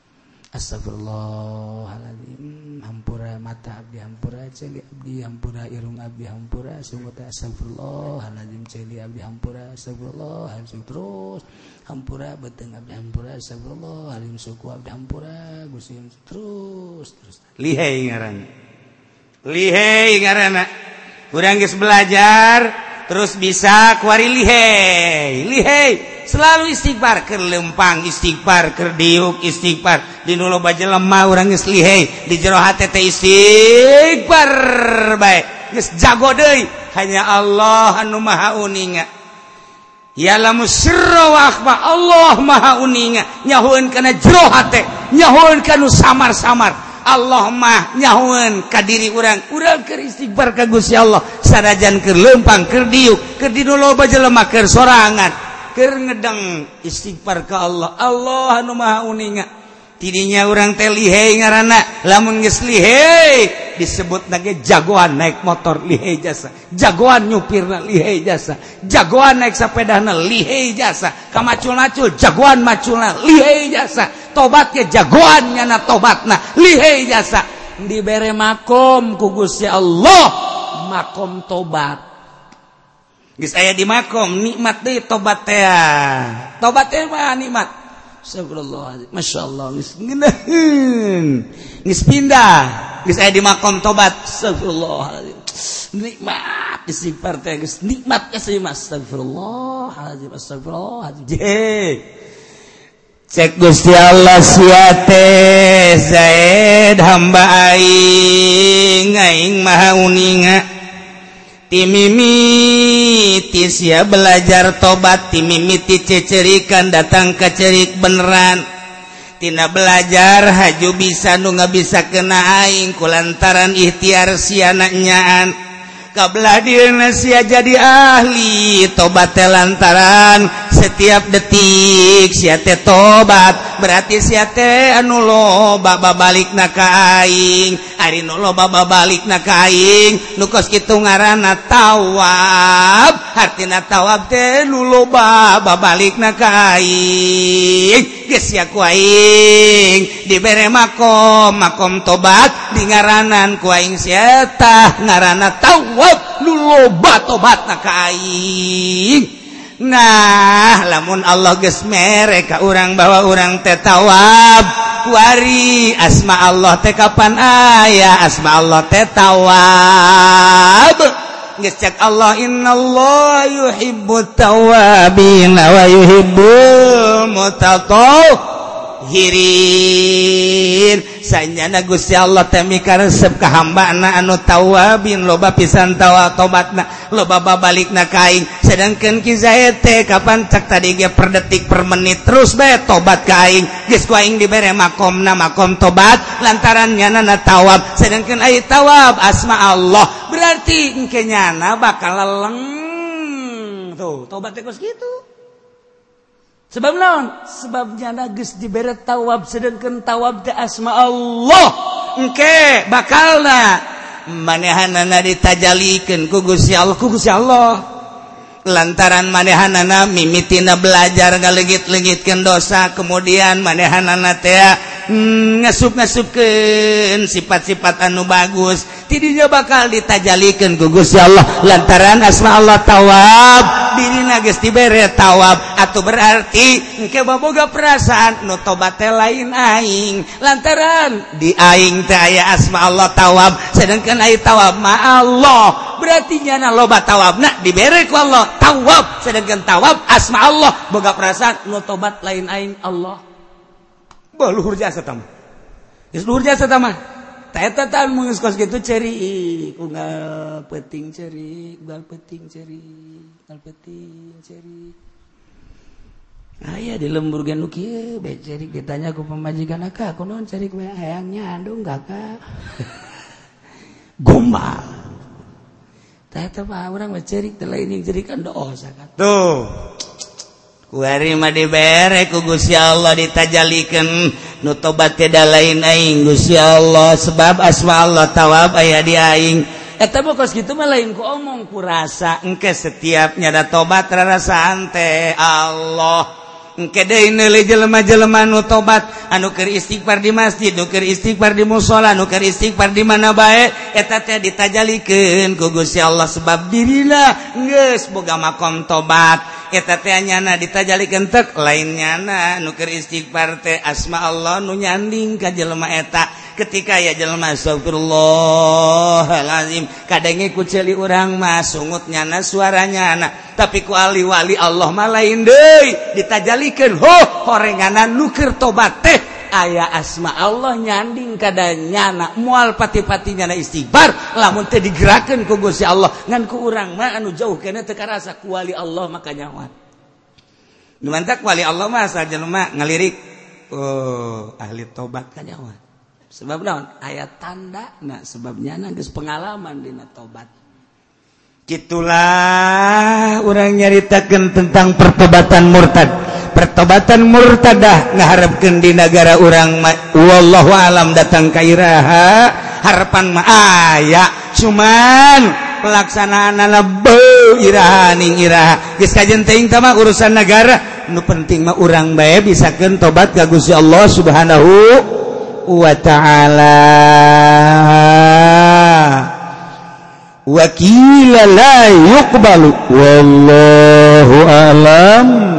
astagfirullahaladzim hampura mata abdi hampura celi abdi hampura irung abdi hampura sungguh teh astagfirullahaladzim celi abdi hampura astagfirullahaladzim terus hampura beteng abdi hampura astagfirullahaladzim suku abdi hampura Gusti terus terus lihai ngaranna lihai ngaranna urang geus belajar terus bisa kuari lihai lihai selalu istighfar keur lempang istighfar keur diuk istighfar di nu loba jelema urang geus lihai di jero hate teh istighfar bae geus jago deui hanya Allah anu maha uninga ya'lamu sirra wa akhfa Allah maha uninga nyahoeun kana jero hate nyahoeun kana samar-samar Allah mah nyahoeun ka diri urang urang keur istighfar ka Gusti Allah sanajan keur lempang keur diuk keur di nu loba jelema keur sorangan keur ngedeng istighfar ka Allah Allah anu maha uninga tidinya urang teh lihai ngaranna lamun geus lihai disebutna ge jagoan naik motor lihai jasa jagoan nyupirna lihai jasa jagoan naik sapedana lihai jasa ka macul-macul jagoan maculna lihai jasa tobat ge jagoan nyana tobatna lihai jasa dibere makom ku Gusti Allah makom tobat geus aya di makom nikmat deui tobat teh tobat teh mah nikmat astagfirullah masyaallah geus ngeunaheun geus pindah geus aya di makom tobat astagfirullah nikmat istighfar teh geus nikmat geus astagfirullah astagfirullah cek Gusti Allah sia teh zaid hamba aing aing maha uninga timimiti sia belajar tobat timimiti cecerikan datang ke cerik beneran tina belajar haju bisa nu ngabisa kena aing kulantaran ikhtiar sia nyaan kabelah dieuna sia jadi ahli tobat teh lantaran setiap detik sia teh tobat berarti sia teh anu loba babalikna ka aing ari nu loba babalikna ka aing nu kos kitu ngaranna tawab artina tawab teh nu loba babalikna ka aing geus sia ku aing dibere makom makom tobat di ngaranan ku aing sia tah ngaranna tawab nu loba tobatna ka aing. Nah lamun Allah geus mere ka urang bahwa urang teh tawab kuari asma Allah teh kapan aya asma Allah teh tawab geus cek Allah innallaha yuhibbut tawwabin wa yuhibbul mutatahhirin sanyana Gusti Allah teh mikaresep ka hambana anu tawabin loba pisan tawa tobatna loba babalikna ka aing sedangkeun ki Zaid teh kapan cak tadi ge per detik per menit terus bae tobat ka aing geus ku aing dibere makomna makom tobat lantaran nyana tawab sedangkeun ai tawab asma Allah berarti engke nyana bakal leleng tuh tobat teh geus kitu. Sebab naon? Sebab nyana geus dibere tawab sedangkeun tawab teh asma Allah. Engke bakalna manehanana ditajalikeun ku Gusti Allah, ku Gusti Allah. Lantaran manehanana mimitina belajar ngaleungit-leungitkeun dosa, kemudian manehanana teh hmm, ngasup-ngasupkeun sifat-sifat anu bagus. Tidinya bakal ditajalikeun ku Gusti Allah lantaran asma Allah tawab. Dirina geus dibere tawab atuh berarti engke boboga perasaan nu tobat teh lain aing lantaran di aing teh aya asma Allah tawab sedangkan ai tawab ma Allah berarti nyana loba tawabna dibere ku Allah tawab sedangkan tawab asma Allah boga perasaan nu tobat lain aing Allah bah luhur jasa tah geus luhur jasa tah mah ta eta tah mun geus kos kitu ceri unggal peuting ceri unggal peuting ceri unggal peuting ceri aya di lembur ge nu kieu bae ceri ditanya ku pamajikan ka kunaon ceri we hayang nyandung kakak gombal ta eta mah urang mah ceri teh lain ceri kan dosa kan tuh kuari mah dibere ku Gusti Allah ditajalikeun nu tobat teh da lain aing Gusti Allah sebab asma Allah tawab aya di aing eta mah kos kitu mah lain ku omong ku rasa engke setiap nyada tobat rarasaan teh Allah engke deui neuleuh jelema-jelema nu tobat anu keur istighfar di masjid nu keur istighfar di mushola nu keur istighfar di mana bae eta teh ditajalikeun ku Gusti Allah sebab dirina geus boga makom tobat eta teh nyana ditajalikeun tek lain nyana nu keur istighfar teh asma Allah nu nyanding ka jelema eta ketika ya jelema astagfirullahalazim kadenge ku ceuli urang mah sungut nyana suaranya anak tapi ku ali wali Allah mah lain deui ditajalikeun ho horenganan nu keur tobat teh aya asma Allah nyanding kada nyana moal pati-pati nyana istighfar lamun teh digerakeun ku Gusti Allah ngan ku urang mah anu jauh keneh teu karasa ku wali Allah maka nyawa nu mantak wali Allah mah asal jelema ngalirik oh ahli tobat ka nyawa sebab naon ayat tanda nah sebabnya geus pengalaman dina tobat gitulah urang nyaritakeun tentang pertobatan murtad pertobatan murtadah ngaharepkeun di negara urang wallahu alam datang ka iraha harapan mah aya cuman pelaksanaanna beuh iraha ning iraha geus kajen teuing tah mah urusan negara nu penting mah urang bae bisakeun tobat ka Gusti Allah Subhanahu wa ta'ala wa qila la yuqbalu wallahu alam